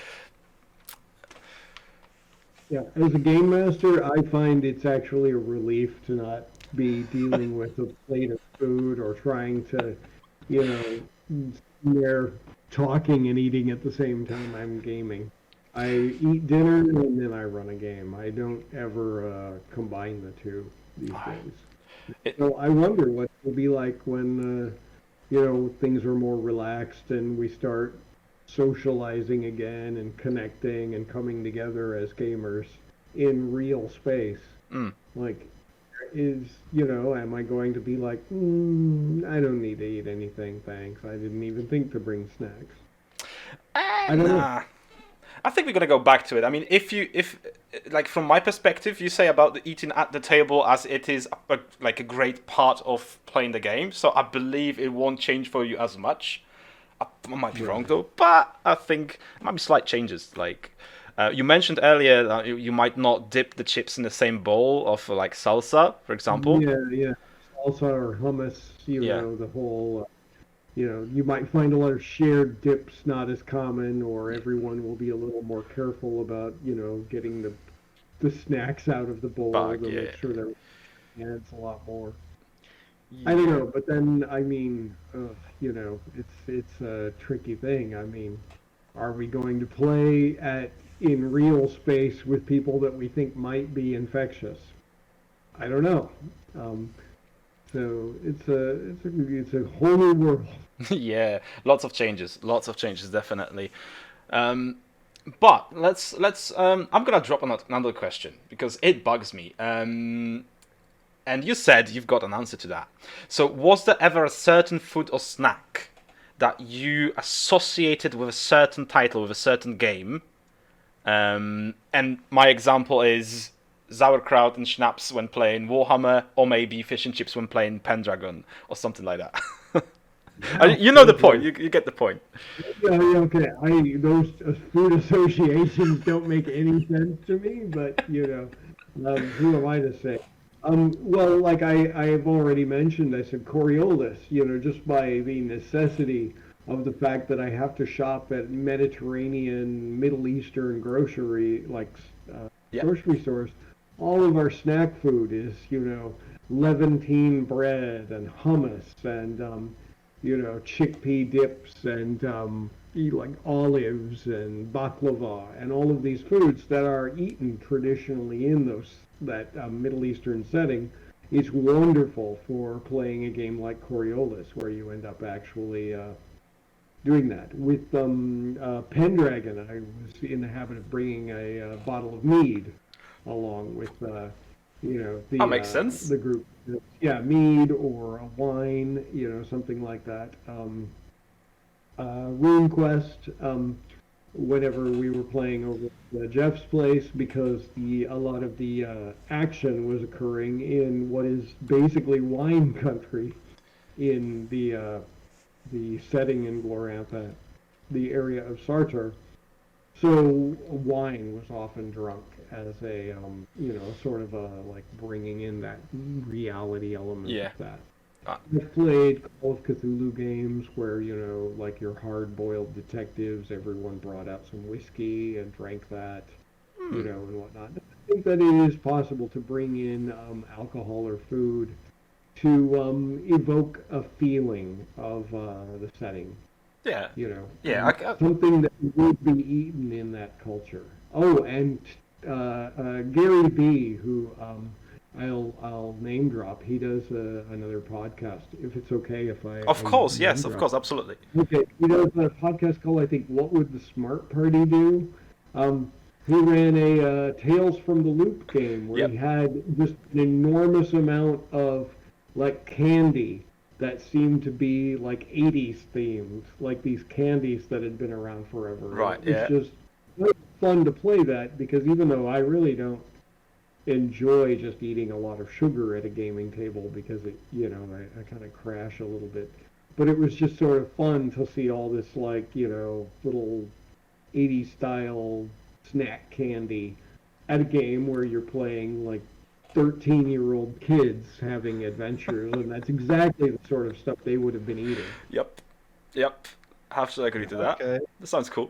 Yeah, as a game master, I find it's actually a relief to not be dealing with a plate of food or trying to, you know, they're talking and eating at the same time I'm gaming. I eat dinner and then I run a game. I don't ever uh, combine the two these days. it, So I wonder what it'll be like when, uh, you know, things are more relaxed and we start socializing again and connecting and coming together as gamers in real space. mm, Like, is, you know, am I going to be like, mm, I don't need to eat anything, thanks. I didn't even think to bring snacks. eh, I don't know. nah. I think we're gonna go back to it. I mean, if you, if, like, from my perspective, you say about the eating at the table as it is a, like a great part of playing the game. So I believe it won't change for you as much. I, I might be wrong Right. though, but I think there might be slight changes. Like uh, you mentioned earlier, that you, you might not dip the chips in the same bowl of like salsa, for example. Yeah, yeah. Salsa or hummus, you Yeah, know, the whole, uh, you know, you might find a lot of shared dips not as common, or yeah, everyone will be a little more careful about, you know, getting the the snacks out of the bowl. bug. They'll Yeah, make sure they're adds a lot more. I don't Yeah. know, but then I mean, uh, you know, it's it's a tricky thing. I mean, are we going to play at in real space with people that we think might be infectious? I don't know. Um, So it's a it's a it's a whole new world. Yeah, lots of changes, lots of changes, definitely. Um, but let's let's. Um, I'm gonna drop ano- another question because it bugs me. Um, and you said you've got an answer to that. So, was there ever a certain food or snack that you associated with a certain title, with a certain game? Um, and my example is sauerkraut and schnapps when playing Warhammer, or maybe fish and chips when playing Pendragon, or something like that. Uh, you know the point. You, you get the point. Yeah, yeah, okay. I those uh, food associations don't make any sense to me, but you know, um, who am I to say? Um, well, like I I have already mentioned, I said Coriolis. You know, just by the necessity of the fact that I have to shop at Mediterranean, Middle Eastern grocery like uh, Yeah. grocery stores. All of our snack food is, you know, Levantine bread and hummus and um, you know, chickpea dips and um, eat like olives and baklava and all of these foods that are eaten traditionally in those that um, Middle Eastern setting. It's wonderful for playing a game like Coriolis, where you end up actually uh, doing that. With um, uh, Pendragon, I was in the habit of bringing a, uh bottle of mead along with uh, you know That the makes uh, sense. the group. Yeah, mead or a wine, you know, something like that. Um, uh, RuneQuest, um, whenever we were playing over at Jeff's place, because the a lot of the uh, action was occurring in what is basically wine country in the uh, the setting in Glorantha, the area of Sartor. So wine was often drunk as a, um, you know, sort of a like bringing in that reality element of Yeah. that. Uh, I've played Call of Cthulhu games where, you know, like your hard-boiled detectives, everyone brought out some whiskey and drank that, you hmm. know, and whatnot. I think that it is possible to bring in um, alcohol or food to um, evoke a feeling of uh, the setting, Yeah. you know, Yeah. um, I, I, something that would be eaten in that culture. Oh, and uh, uh, Gary B, who um, I'll I'll name drop. He does uh, another podcast. If it's okay, if I, of I course. name Yes. Of drop. course. Absolutely. Okay, he does a podcast called I think What Would the Smart Party Do? Um, he ran a uh, Tales from the Loop game where he Yep. had just an enormous amount of like candy that seemed to be like eighties themed, like these candies that had been around forever. And Right. it was Yeah. just really fun to play that because even though I really don't enjoy just eating a lot of sugar at a gaming table because it, you know, I, I kind of crash a little bit. But it was just sort of fun to see all this, like, you know, little eighties style snack candy at a game where you're playing like thirteen year old kids having adventures. And that's exactly the sort of stuff they would have been eating. Yep. Yep. Have to agree to that. Okay. That sounds cool.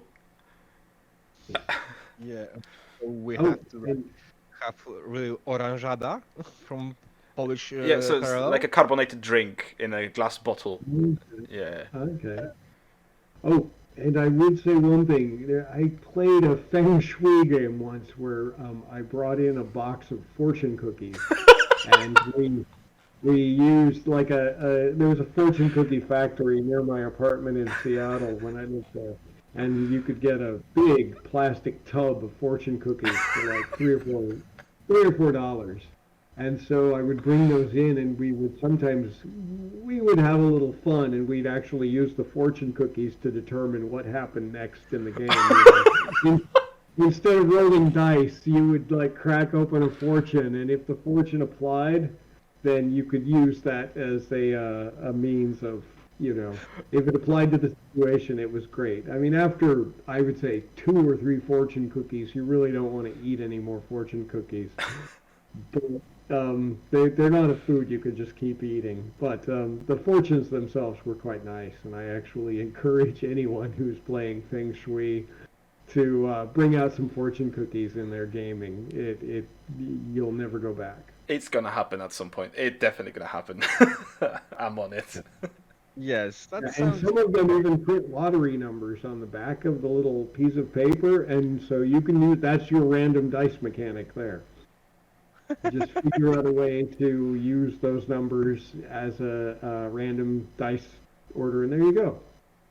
Yeah. So we Oh, have to like, and have really oranżada from Polish Yeah. uh, So it's parallel. like a carbonated drink in a glass bottle. Yeah. okay. Oh, and I would say one thing. There- I played a Feng Shui game once where um, I brought in a box of fortune cookies, and we we used like a, a there was a fortune cookie factory near my apartment in Seattle when I lived there, and you could get a big plastic tub of fortune cookies for like three or four three or four dollars. And so I would bring those in, and we would sometimes we would have a little fun, and we'd actually use the fortune cookies to determine what happened next in the game. You know? In, instead of rolling dice, you would like crack open a fortune, and if the fortune applied, then you could use that as a uh, a means of, you know, if it applied to the situation, it was great. I mean, after I would say two or three fortune cookies, you really don't want to eat any more fortune cookies. But um, they, they're not a food you could just keep eating. But um, the fortunes themselves were quite nice, and I actually encourage anyone who's playing Feng Shui to uh, bring out some fortune cookies in their gaming. It, it, you'll never go back. It's gonna happen at some point. It's definitely gonna happen. I'm on it. Yes, that Yeah, and sounds. some of them even print lottery numbers on the back of the little piece of paper, and so you can use that's your random dice mechanic there. Just figure out a way to use those numbers as a, a random dice order, and there you go.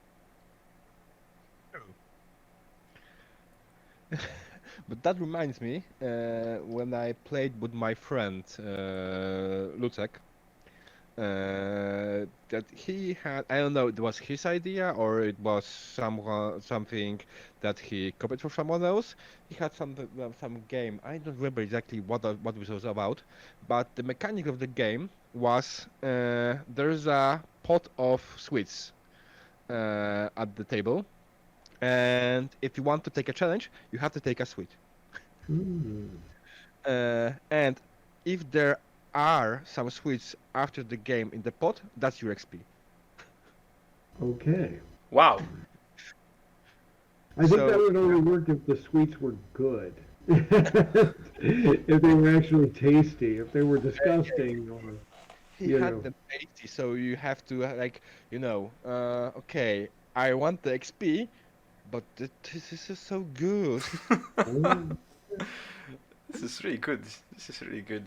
But that reminds me, uh, when I played with my friend uh, Lucek, uh, that he had, I don't know, it was his idea or it was some something that he copied from someone else. He had some uh, some game. I don't remember exactly what the, what it was about, but the mechanic of the game was uh, there's a pot of sweets uh, at the table, and if you want to take a challenge, you have to take a sweet. Hmm. Uh, and if there are some sweets after the game in the pot, that's your X P. Okay. Wow. I think So- that would only work if the sweets were good. If they were actually tasty. If they were disgusting, or He You had know. them tasty, so you have to uh, like, you know, uh, okay, I want the X P, but th- this is just so good. oh, This is really good. This is really good.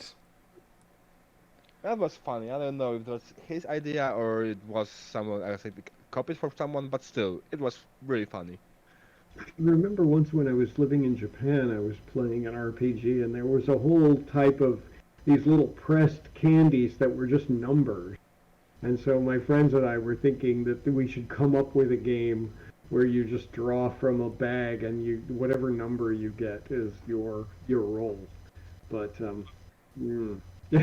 That was funny. I don't know if it was his idea or it was someone else like, copied from someone, but still, it was really funny. I remember once when I was living in Japan, I was playing an R P G, and there was a whole type of these little pressed candies that were just numbers. And so my friends and I were thinking that we should come up with a game where you just draw from a bag, and you whatever number you get is your your roll. But um, mm.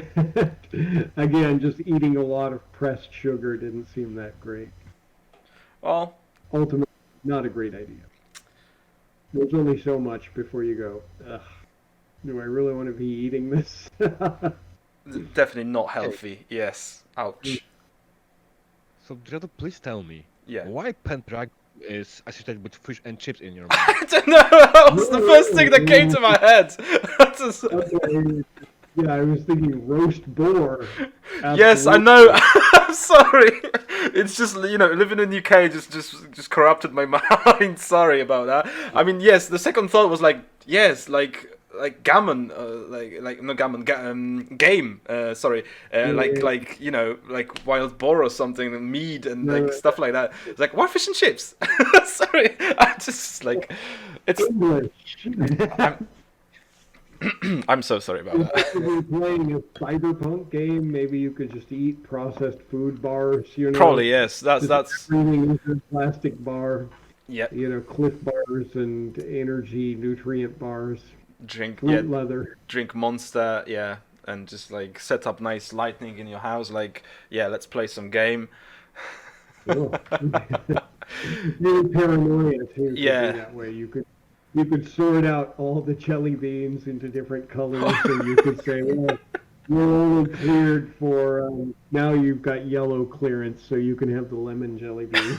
Again, just eating a lot of pressed sugar didn't seem that great. Well, Ultimately, not a great idea. There's only so much before you go, ugh, do I really want to be eating this? definitely not healthy. Yes. Ouch. So, Dredo, please tell me, Yeah. why Pendragon is associated with fish and chips in your mind? I don't know. That was the first thing that came to my head. That's just- Okay, yeah, I was thinking roast boar. Yes, I Absolutely. know. I'm sorry. It's just, you know, living in the U K just just just corrupted my mind. Sorry about that. I mean, yes, the second thought was like, yes, like like gammon, uh, like like no gammon, ga- um, game. Uh, sorry, uh, like Yeah. like you know, like wild boar or something, and mead and No, like no. stuff like that. It's like, why fish and chips? Sorry, I just like it's. English. I'm, I'm so sorry about that. If you were playing a cyberpunk game, maybe you could just eat processed food bars, you know. Probably yes. That's Just that's everything into a plastic bar, yeah. you know, Cliff bars and energy nutrient bars, Drink fruit yeah. leather. Drink Monster, yeah, and just like set up nice lighting in your house. Like, yeah, let's play some game. Oh. Really paranoia too, Yeah. thinking that way. You could you could sort out all the jelly beans into different colors, so you could say, well, you're only cleared for um, now. You've got yellow clearance, so you can have the lemon jelly beans.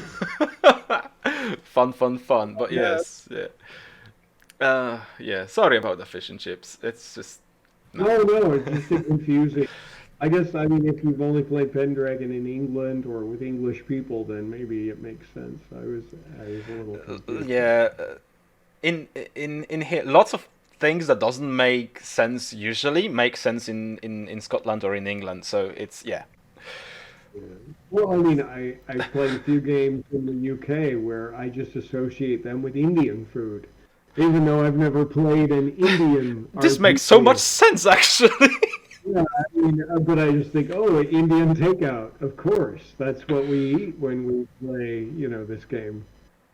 Fun, fun, fun. But yes, yeah. Uh, yeah. Sorry about the fish and chips. It's just No, no, it's just so confusing. I guess I mean if you've only played Pendragon in England or with English people, then maybe it makes sense. I was I was a little confused. yeah. uh, In in in here, lots of things that doesn't make sense usually make sense in in in Scotland or in England. So it's yeah. Yeah. Well, I mean, I, I played a few games in the U K where I just associate them with Indian food, even though I've never played an Indian. This makes so R P G. much sense actually. Yeah, I mean, uh, but I just think, oh, Indian takeout. Of course, that's what we eat when we play, you know, this game.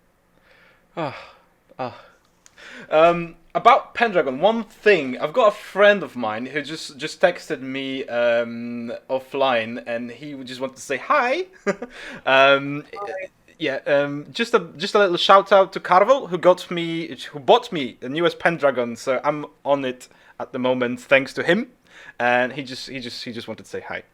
Ah, ah. Um, about Pendragon, one thing I've got a friend of mine who just just texted me um, offline, and he would just want to say hi. um, yeah, um, just a just a little shout out to Carvel who got me who bought me the newest Pendragon, so I'm on it at the moment thanks to him, and he just he just he just wanted to say hi.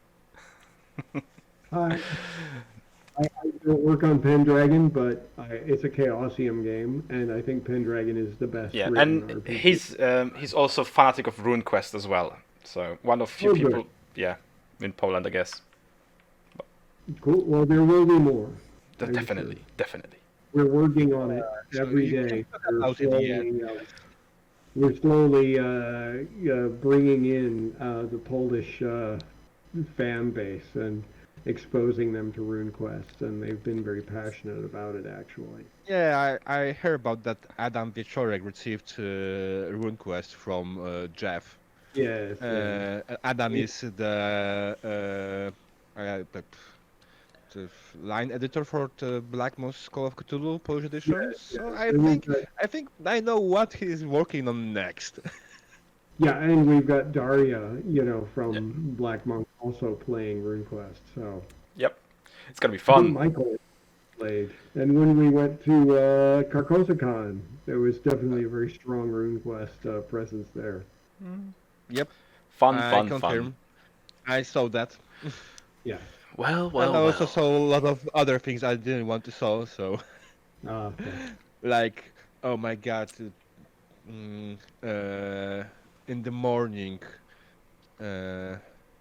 I, I, I don't work on Pendragon, but I, it's a Chaosium game, and I think Pendragon is the best. Yeah, written and R P G. he's um, he's also fanatic of RuneQuest as well. So one of few Oh, good. people, yeah, in Poland, I guess. Cool. Well, there will be more. De- I'm definitely, sure. definitely. We're working on it so every you day. can talk We're about it, yeah. slowly, uh, we're slowly uh, uh, bringing in uh, the Polish uh, fan base and exposing them to RuneQuest, and they've been very passionate about it, actually. Yeah, I, I heard about that Adam Wieczorek received uh, RuneQuest from uh, Jeff. Yes, yes. Uh, Adam is the, uh, uh, the, the line editor for the Black Moss Call of Cthulhu Polish edition. Yes, So yes. I And we've think got, I think I know what he's working on next. yeah, and we've got Daria, you know, from Yeah. Black Monk also playing RuneQuest. So Yep. It's gonna be I think fun. Michael played. And when we went to uh, Carcosicon, there was definitely a very strong RuneQuest uh, presence there. Yep, Fun, I fun, confirm. fun. I saw that. Yeah. Well, And well, I also well. saw a lot of other things I didn't want to saw. So Uh, okay. like, oh my God, uh, mm, uh, in the morning. Uh,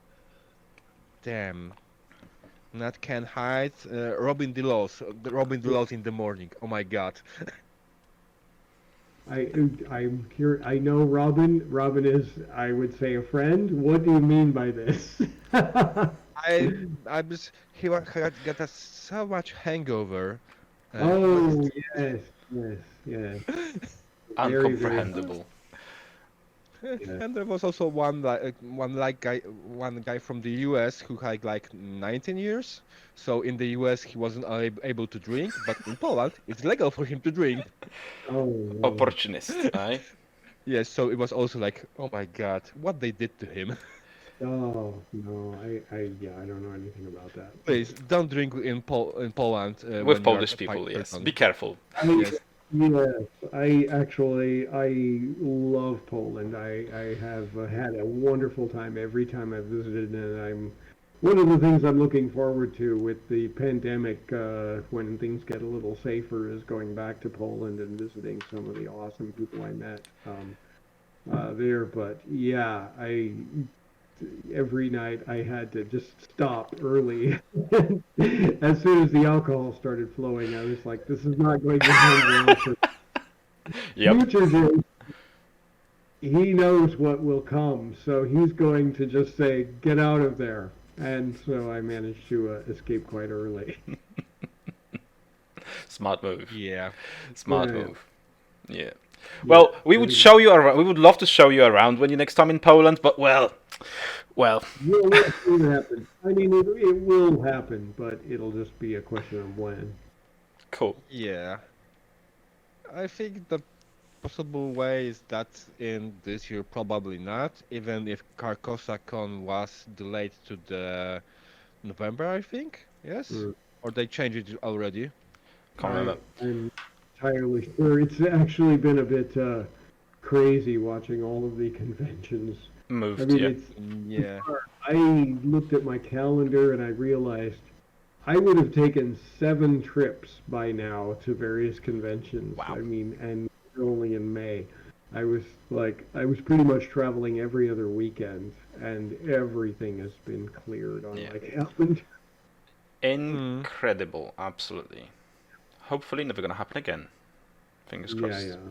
damn. Not Can Hide. Uh, Robin Delos. uh, the Robin Delos in the morning. Oh my God. I I'm here. I know Robin. Robin is, I would say, a friend. What do you mean by this? I I was he wa- he had got a, so much hangover. Uh, he was- Oh yes, yes, yes. Very, very. Uncomprehendable. Yeah. And there was also one like one like guy one guy from the U S who had like nineteen years. So in the U S he wasn't ab- able to drink, but in Poland it's legal for him to drink. Oh, no. Opportunist, eh? Yes, so it was also like, oh my God, what they did to him. Oh no, I, I, yeah, I don't know anything about that. Please don't drink in Pol in Poland uh, when With you are Polish a people, white yes. person. Be careful. I, Yes. yes, I actually, I love Poland. I, I have uh, had a wonderful time every time I've visited, and I'm one of the things I'm looking forward to with the pandemic, uh, when things get a little safer, is going back to Poland and visiting some of the awesome people I met um, uh, there. But yeah, I every night I had to just stop early. As soon as the alcohol started flowing, I was like, this is not going to end well for Yep. future James. He knows what will come, so he's going to just say, get out of there. And so I managed to uh, escape quite early. Smart move. Yeah. Smart Yeah. move. Yeah. Well, we would show you around. We would love to show you around when you're next time in Poland. But well, well, Will it will happen? I mean, it, it will happen, but it'll just be a question of when. cool. Yeah. I think the possible way is that in this year probably not, even if Carcosa-Con was delayed to the November, I think. Yes? Mm. Or they changed it already. Can't remember. I, I'm entirely sure. It's actually been a bit uh, crazy watching all of the conventions. I Moved. mean, Yeah. it's Mm, Yeah. I looked at my calendar and I realized I would have taken seven trips by now to various conventions. Wow. I mean, and only in May. I was like, I was pretty much traveling every other weekend, and everything has been cleared on Yeah. my calendar. Incredible. Absolutely. Hopefully, never gonna happen again. Fingers Yeah, crossed. yeah.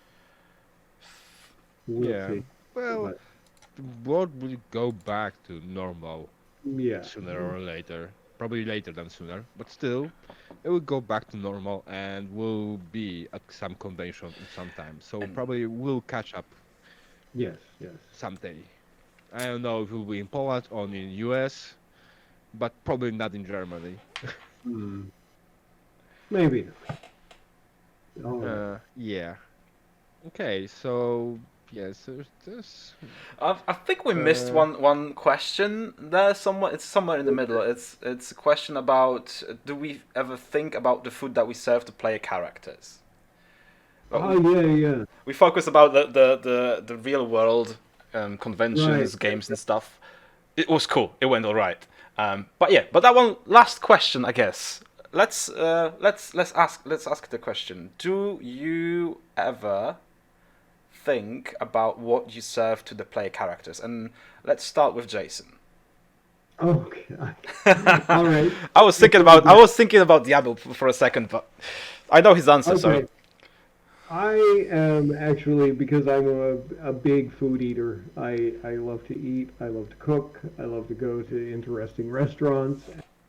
We'll Yeah. see. Well, But, the world will go back to normal yeah. sooner or later. Probably later than sooner, but still, it will go back to normal and we'll be at some convention in some time. So And- probably we'll catch up Yes, yes. someday. I don't know if it will be in Poland or in U S, but probably not in Germany. Hmm. Maybe not. All right. Uh, yeah. Okay, so yes, there's this. I, I think we missed Uh, one one question there. Somewhere, it's somewhere in the middle. It's it's a question about uh, do we ever think about the food that we serve to player characters? Well, Oh, we, yeah, yeah. we focus about the the the, the real world um, conventions, Right. games, and stuff. It was cool. It went all right. Um, but yeah, but that one last question, I guess. Let's uh, let's let's ask let's ask the question. Do you ever think about what you serve to the player characters? And let's start with Jason. Okay. All right. I was thinking about I was thinking about Diablo f- for a second, but I know his answer. So Okay. I am actually, because I'm a, a big food eater. I, I love to eat. I love to cook. I love to go to interesting restaurants.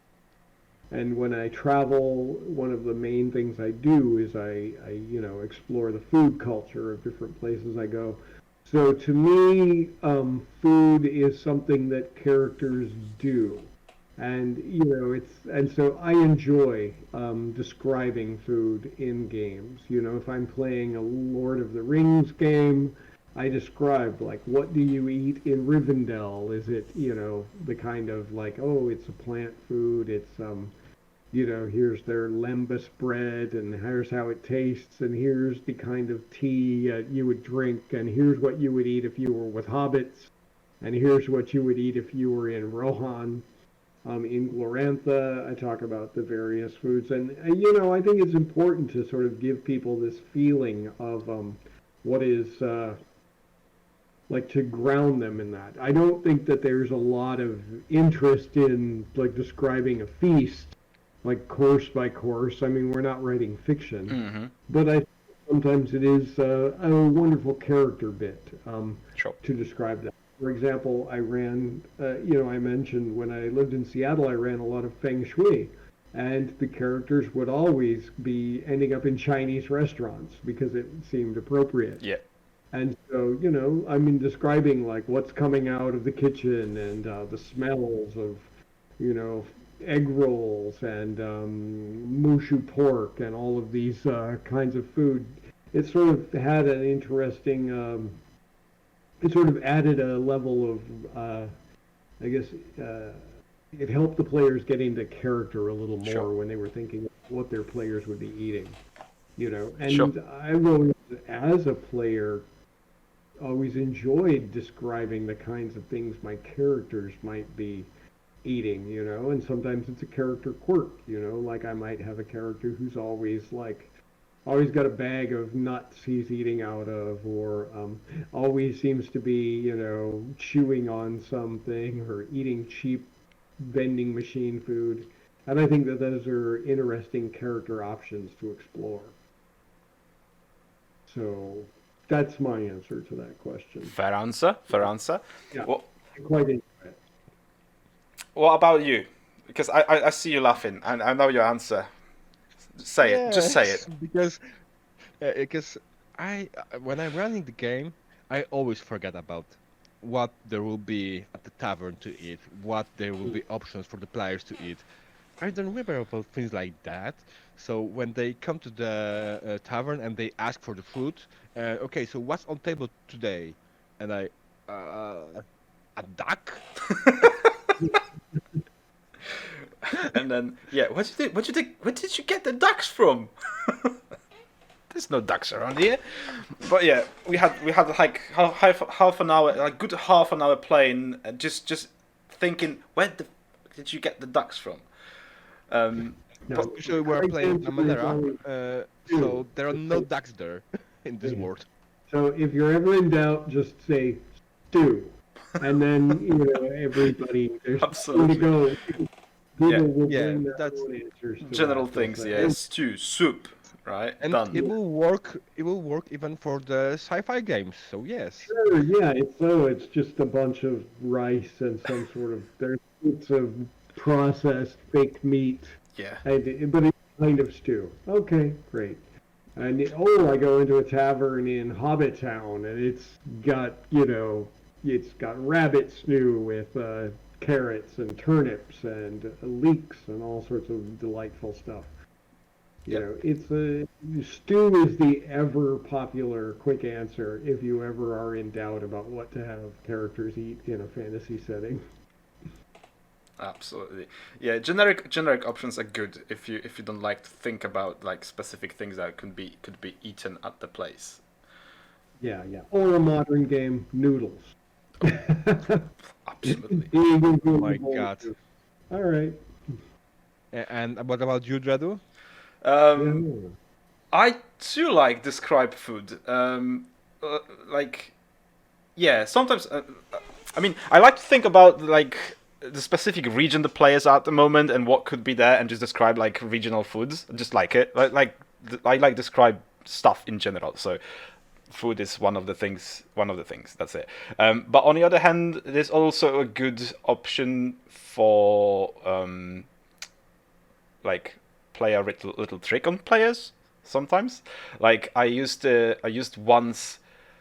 And when I travel, one of the main things I do is I, I, you know, explore the food culture of different places I go. So to me, um, food is something that characters do. And, you know, it's, and so I enjoy um, describing food in games. You know, if I'm playing a Lord of the Rings game, I describe, like, what do you eat in Rivendell? Is it, you know, the kind of like, oh, it's a plant food, it's, um, you know, here's their lembas bread, and here's how it tastes, and here's the kind of tea uh, you would drink, and here's what you would eat if you were with hobbits, and here's what you would eat if you were in Rohan. Um, in Glorantha, I talk about the various foods, and, and you know, I think it's important to sort of give people this feeling of um, what is uh, like to ground them in that. I don't think that there's a lot of interest in like describing a feast, like course by course. I mean, we're not writing fiction, Mm-hmm. but I sometimes it is uh, a wonderful character bit um, Sure. to describe that. For example, I ran, uh, you know, I mentioned when I lived in Seattle, I ran a lot of Feng Shui, and the characters would always be ending up in Chinese restaurants because it seemed appropriate. Yeah. And so, you know, I mean, describing like what's coming out of the kitchen and uh, the smells of, you know, egg rolls and um, mushu pork and all of these uh, kinds of food. It sort of had an interesting, um, it sort of added a level of, uh, I guess, uh, it helped the players get into character a little more Sure. when they were thinking what their players would be eating, you know. And Sure. I've always, as a player, always enjoyed describing the kinds of things my characters might be eating, you know, and sometimes it's a character quirk, you know, like I might have a character who's always like, always got a bag of nuts he's eating out of, or um, always seems to be, you know, chewing on something or eating cheap vending machine food. And I think that those are interesting character options to explore. So that's my answer to that question. Fair answer. Fair answer. Yeah. What I quite enjoy it. What about you? Because I, I, I see you laughing, and I know your answer. Say it. Just say it. Yes, because uh, because I uh, when I'm running the game, I always forget about what there will be at the tavern to eat, what there will be options for the players to eat. I don't remember about things like that. So when they come to the uh, tavern and they ask for the food, uh, okay, so what's on table today? And I, uh, a duck? And then yeah, what did you what did you where did you get the ducks from? There's no ducks around here. But yeah, we had we had like half half, half an hour, like good half an hour playing, uh, just just thinking where the f- did you get the ducks from? Um, No, Usually we're correct playing answer is Amadera, always uh, two. so there are no ducks there in this Yeah. world. So if you're ever in doubt, just say stew, and then you know everybody there's Absolutely. somewhere to go. People Yeah. will Yeah, bring their that's- own answers. To general that, things, they'll yeah. say, Stew, soup, right? And Done. it will work. It will work even for the sci-fi games. So yes. Sure, yeah, it's so it's just a bunch of rice and some sort of there's bits of processed baked meat, Yeah. and, but it's kind of stew. Okay, great. And oh, I go into a tavern in Hobbit Town, and it's got you know, it's got rabbit stew with uh, carrots and turnips and leeks and all sorts of delightful stuff. You Yep. know, it's a stew is the ever popular quick answer if you ever are in doubt about what to have characters eat in a fantasy setting. Absolutely. Yeah, generic generic options are good if you if you don't like to think about like specific things that could be could be eaten at the place. Yeah, yeah. Or a modern game, noodles. Absolutely. Being Oh my God. All right. A- And what about you, Dredu? Um, Yeah. I too like describe food. Um, uh, like, yeah, sometimes. Uh, uh, I mean, I like to think about like the specific region the players are at the moment and what could be there, and just describe like regional foods. I just like it. Like, like th- I like describe stuff in general. So food is one of the things. One of the things. That's it. Um, but on the other hand, there's also a good option for um, like play a little little trick on players sometimes. Like I used uh, I used once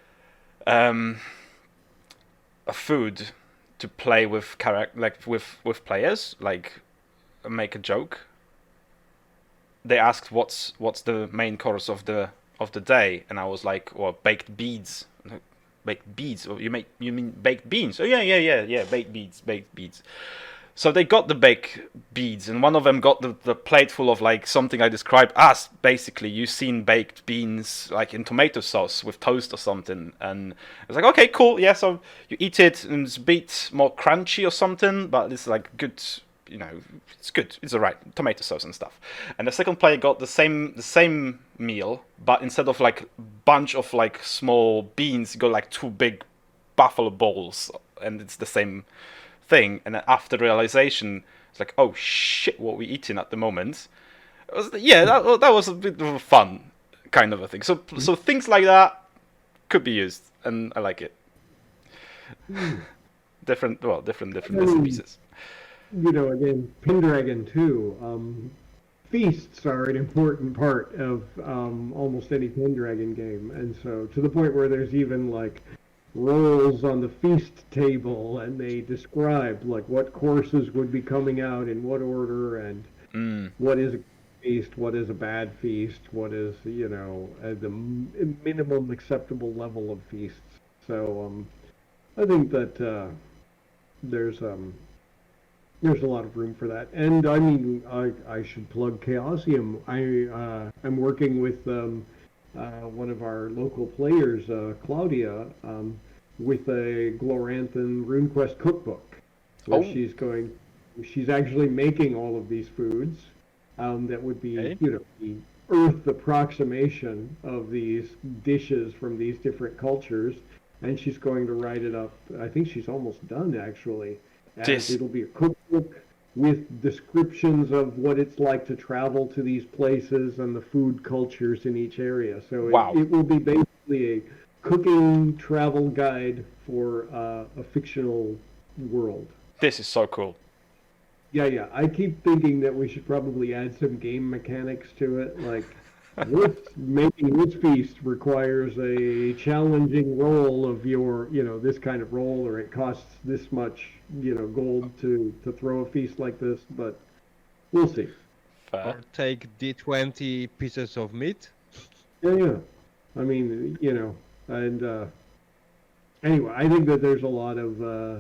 um, a food to play with character like with with players, like make a joke. They asked what's what's the main course of the of the day, and I was like, well, baked beads. Baked beads? Oh, you make you mean baked beans? Oh yeah, yeah, yeah, yeah, baked beads, baked beads. So they got the baked beads, and one of them got the, the plate full of like something I described as basically you've seen baked beans like in tomato sauce with toast or something, and I was like, okay, cool, yeah. So you eat it, and it's a bit more crunchy or something, but it's like good, you know, it's good, it's alright, tomato sauce and stuff. And the second player got the same the same meal, but instead of like bunch of like small beans, you got like two big buffalo balls, and it's the same thing. And then after realization, it's like, oh shit, what we eating at the moment? It was, yeah, that, that was a bit of a fun kind of a thing. So mm-hmm. so things like that could be used, and I like it. Mm. different, well, different, different bits and pieces. You know, again, Pendragon too. Um, feasts are an important part of um, almost any Pendragon game, and so to the point where there's even like rolls on the feast table, and they describe like what courses would be coming out in what order, and mm. what is a feast, what is a bad feast, what is, you know, uh, the m- minimum acceptable level of feasts. So um, I think that uh, there's um, there's a lot of room for that. And I mean, I I should plug Chaosium. I uh, I'm working with um, Uh, one of our local players, uh, Claudia, um, with a Gloranthan RuneQuest cookbook, where oh. she's going, she's actually making all of these foods um, that would be, okay. you know, the Earth approximation of these dishes from these different cultures, and she's going to write it up. I think she's almost done actually. And this... it'll be a cookbook with descriptions of what it's like to travel to these places and the food cultures in each area. So wow. it, it will be basically a cooking travel guide for uh, a fictional world. This is so cool. Yeah, yeah. I keep thinking that we should probably add some game mechanics to it. Like, this, making this feast requires a challenging roll of your, you know, this kind of roll, or it costs this much, you know, gold to, to throw a feast like this, but we'll see. Fair. Or take D twenty pieces of meat. Yeah, yeah. I mean, you know, and uh, anyway, I think that there's a lot of, uh,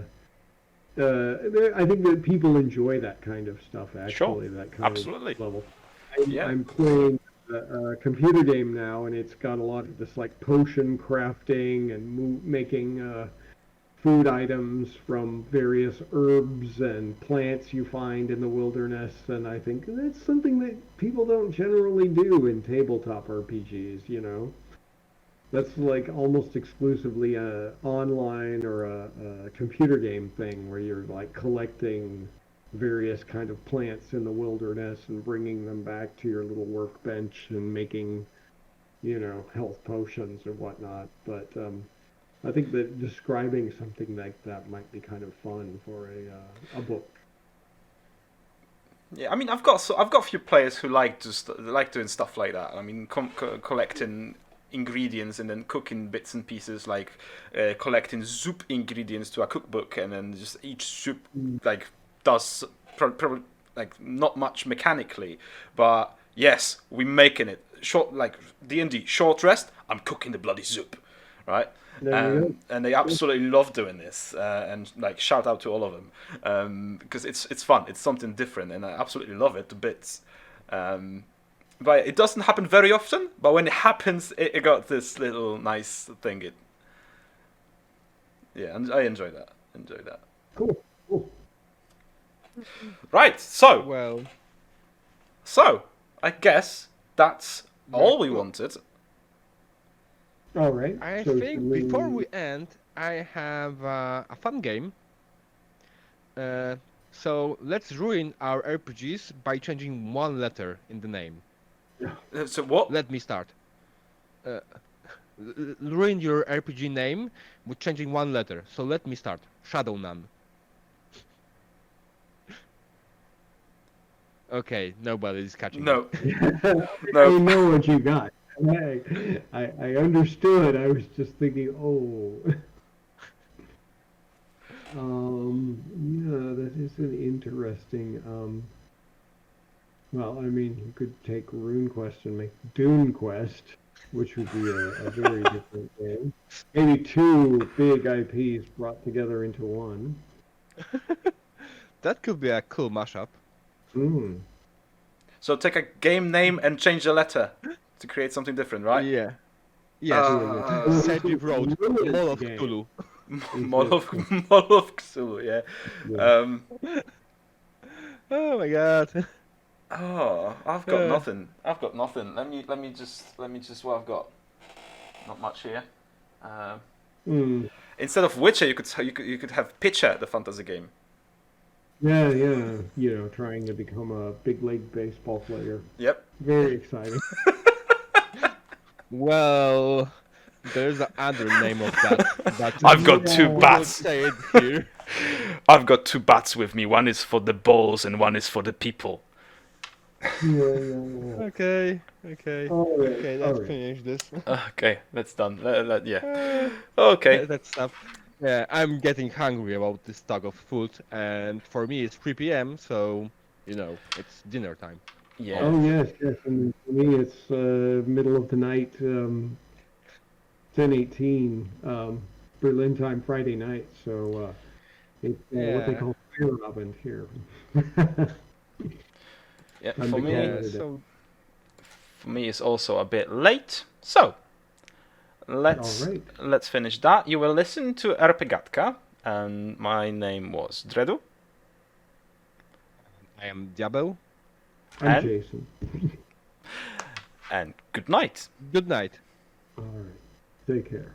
uh, there, I think that people enjoy that kind of stuff, actually, sure. that kind Absolutely. of level. I, yeah. I'm playing a computer game now, and it's got a lot of this like potion crafting and mo- making uh, food items from various herbs and plants you find in the wilderness, and I think that's something that people don't generally do in tabletop R P Gs, you know. That's like almost exclusively a online or a, a computer game thing where you're like collecting various kind of plants in the wilderness and bringing them back to your little workbench and making, you know, health potions or whatnot. But um, I think that describing something like that might be kind of fun for a uh, a book. Yeah, I mean, I've got so I've got a few players who like just like doing stuff like that. I mean, com- co- collecting ingredients and then cooking bits and pieces, like uh, collecting soup ingredients to a cookbook, and then just each soup mm. like. does probably like not much mechanically, but yes, we're making it short, like D and D short rest. I'm cooking the bloody soup, right? Um, and they absolutely love doing this, uh, and like shout out to all of them um, because it's it's fun. It's something different, and I absolutely love it to bits. Um, but it doesn't happen very often. But when it happens, it, it got this little nice thing. It yeah, and I enjoy that. Enjoy that. Cool. Cool. Right, so well, so I guess that's all we wanted. All right. I so think we... before we end, I have uh, a fun game. Uh, so let's ruin our R P Gs by changing one letter in the name. Uh, so what? Let me start. uh, l- l- ruin your R P G name with changing one letter. So let me start. Shadow Nun. Okay, nobody is catching No, it. I no. know what you got. I, I, I understood. I was just thinking, oh. Um, yeah, that is an interesting. Um, well, I mean, you could take RuneQuest and make Dune Quest, which would be a, a very different game. Maybe two big I Ps brought together into one. That could be a cool mashup. Hmm. So take a game name and change the letter to create something different, right? Yeah. Yes. Uh, Uh, Cedric Road, Ruined Mall of game. Cthulhu. Model of Model of Cthulhu, yeah. Yeah. Um, Oh my god. oh, I've got Uh. nothing. I've got nothing. Let me let me just let me just what I've got. Not much here. Um, Hmm. instead of Witcher, you could you could you could have Pitcher, the fantasy game. Yeah, yeah. You know, trying to become a big league baseball player. Yep. Very exciting. Well, there's another name of that. But I've got two we won't bats. say it here. I've got two bats with me. One is for the balls and one is for the people. Yeah, yeah, yeah. Okay, okay. All right, Okay, all let's right. finish this. Okay, that's done. Let- let- yeah. Uh, Okay. That's stuff. Yeah, I'm getting hungry about this talk of food, and for me it's three p m, so, you know, it's dinner time. Yeah. Oh yes, yes. And for me, it's uh, middle of the night, um, ten eighteen, um, Berlin time, Friday night. So uh, it's uh, what they Yeah. call fire oven here. Yeah. I'm For the me, cat. Yeah, so for me, it's also a bit late. So let's All right. let's finish that. You will listen to RPGatka, and my name was Dredu. I am Diabeł. I'm And? Jason. And good night. Good night. All right. Take care.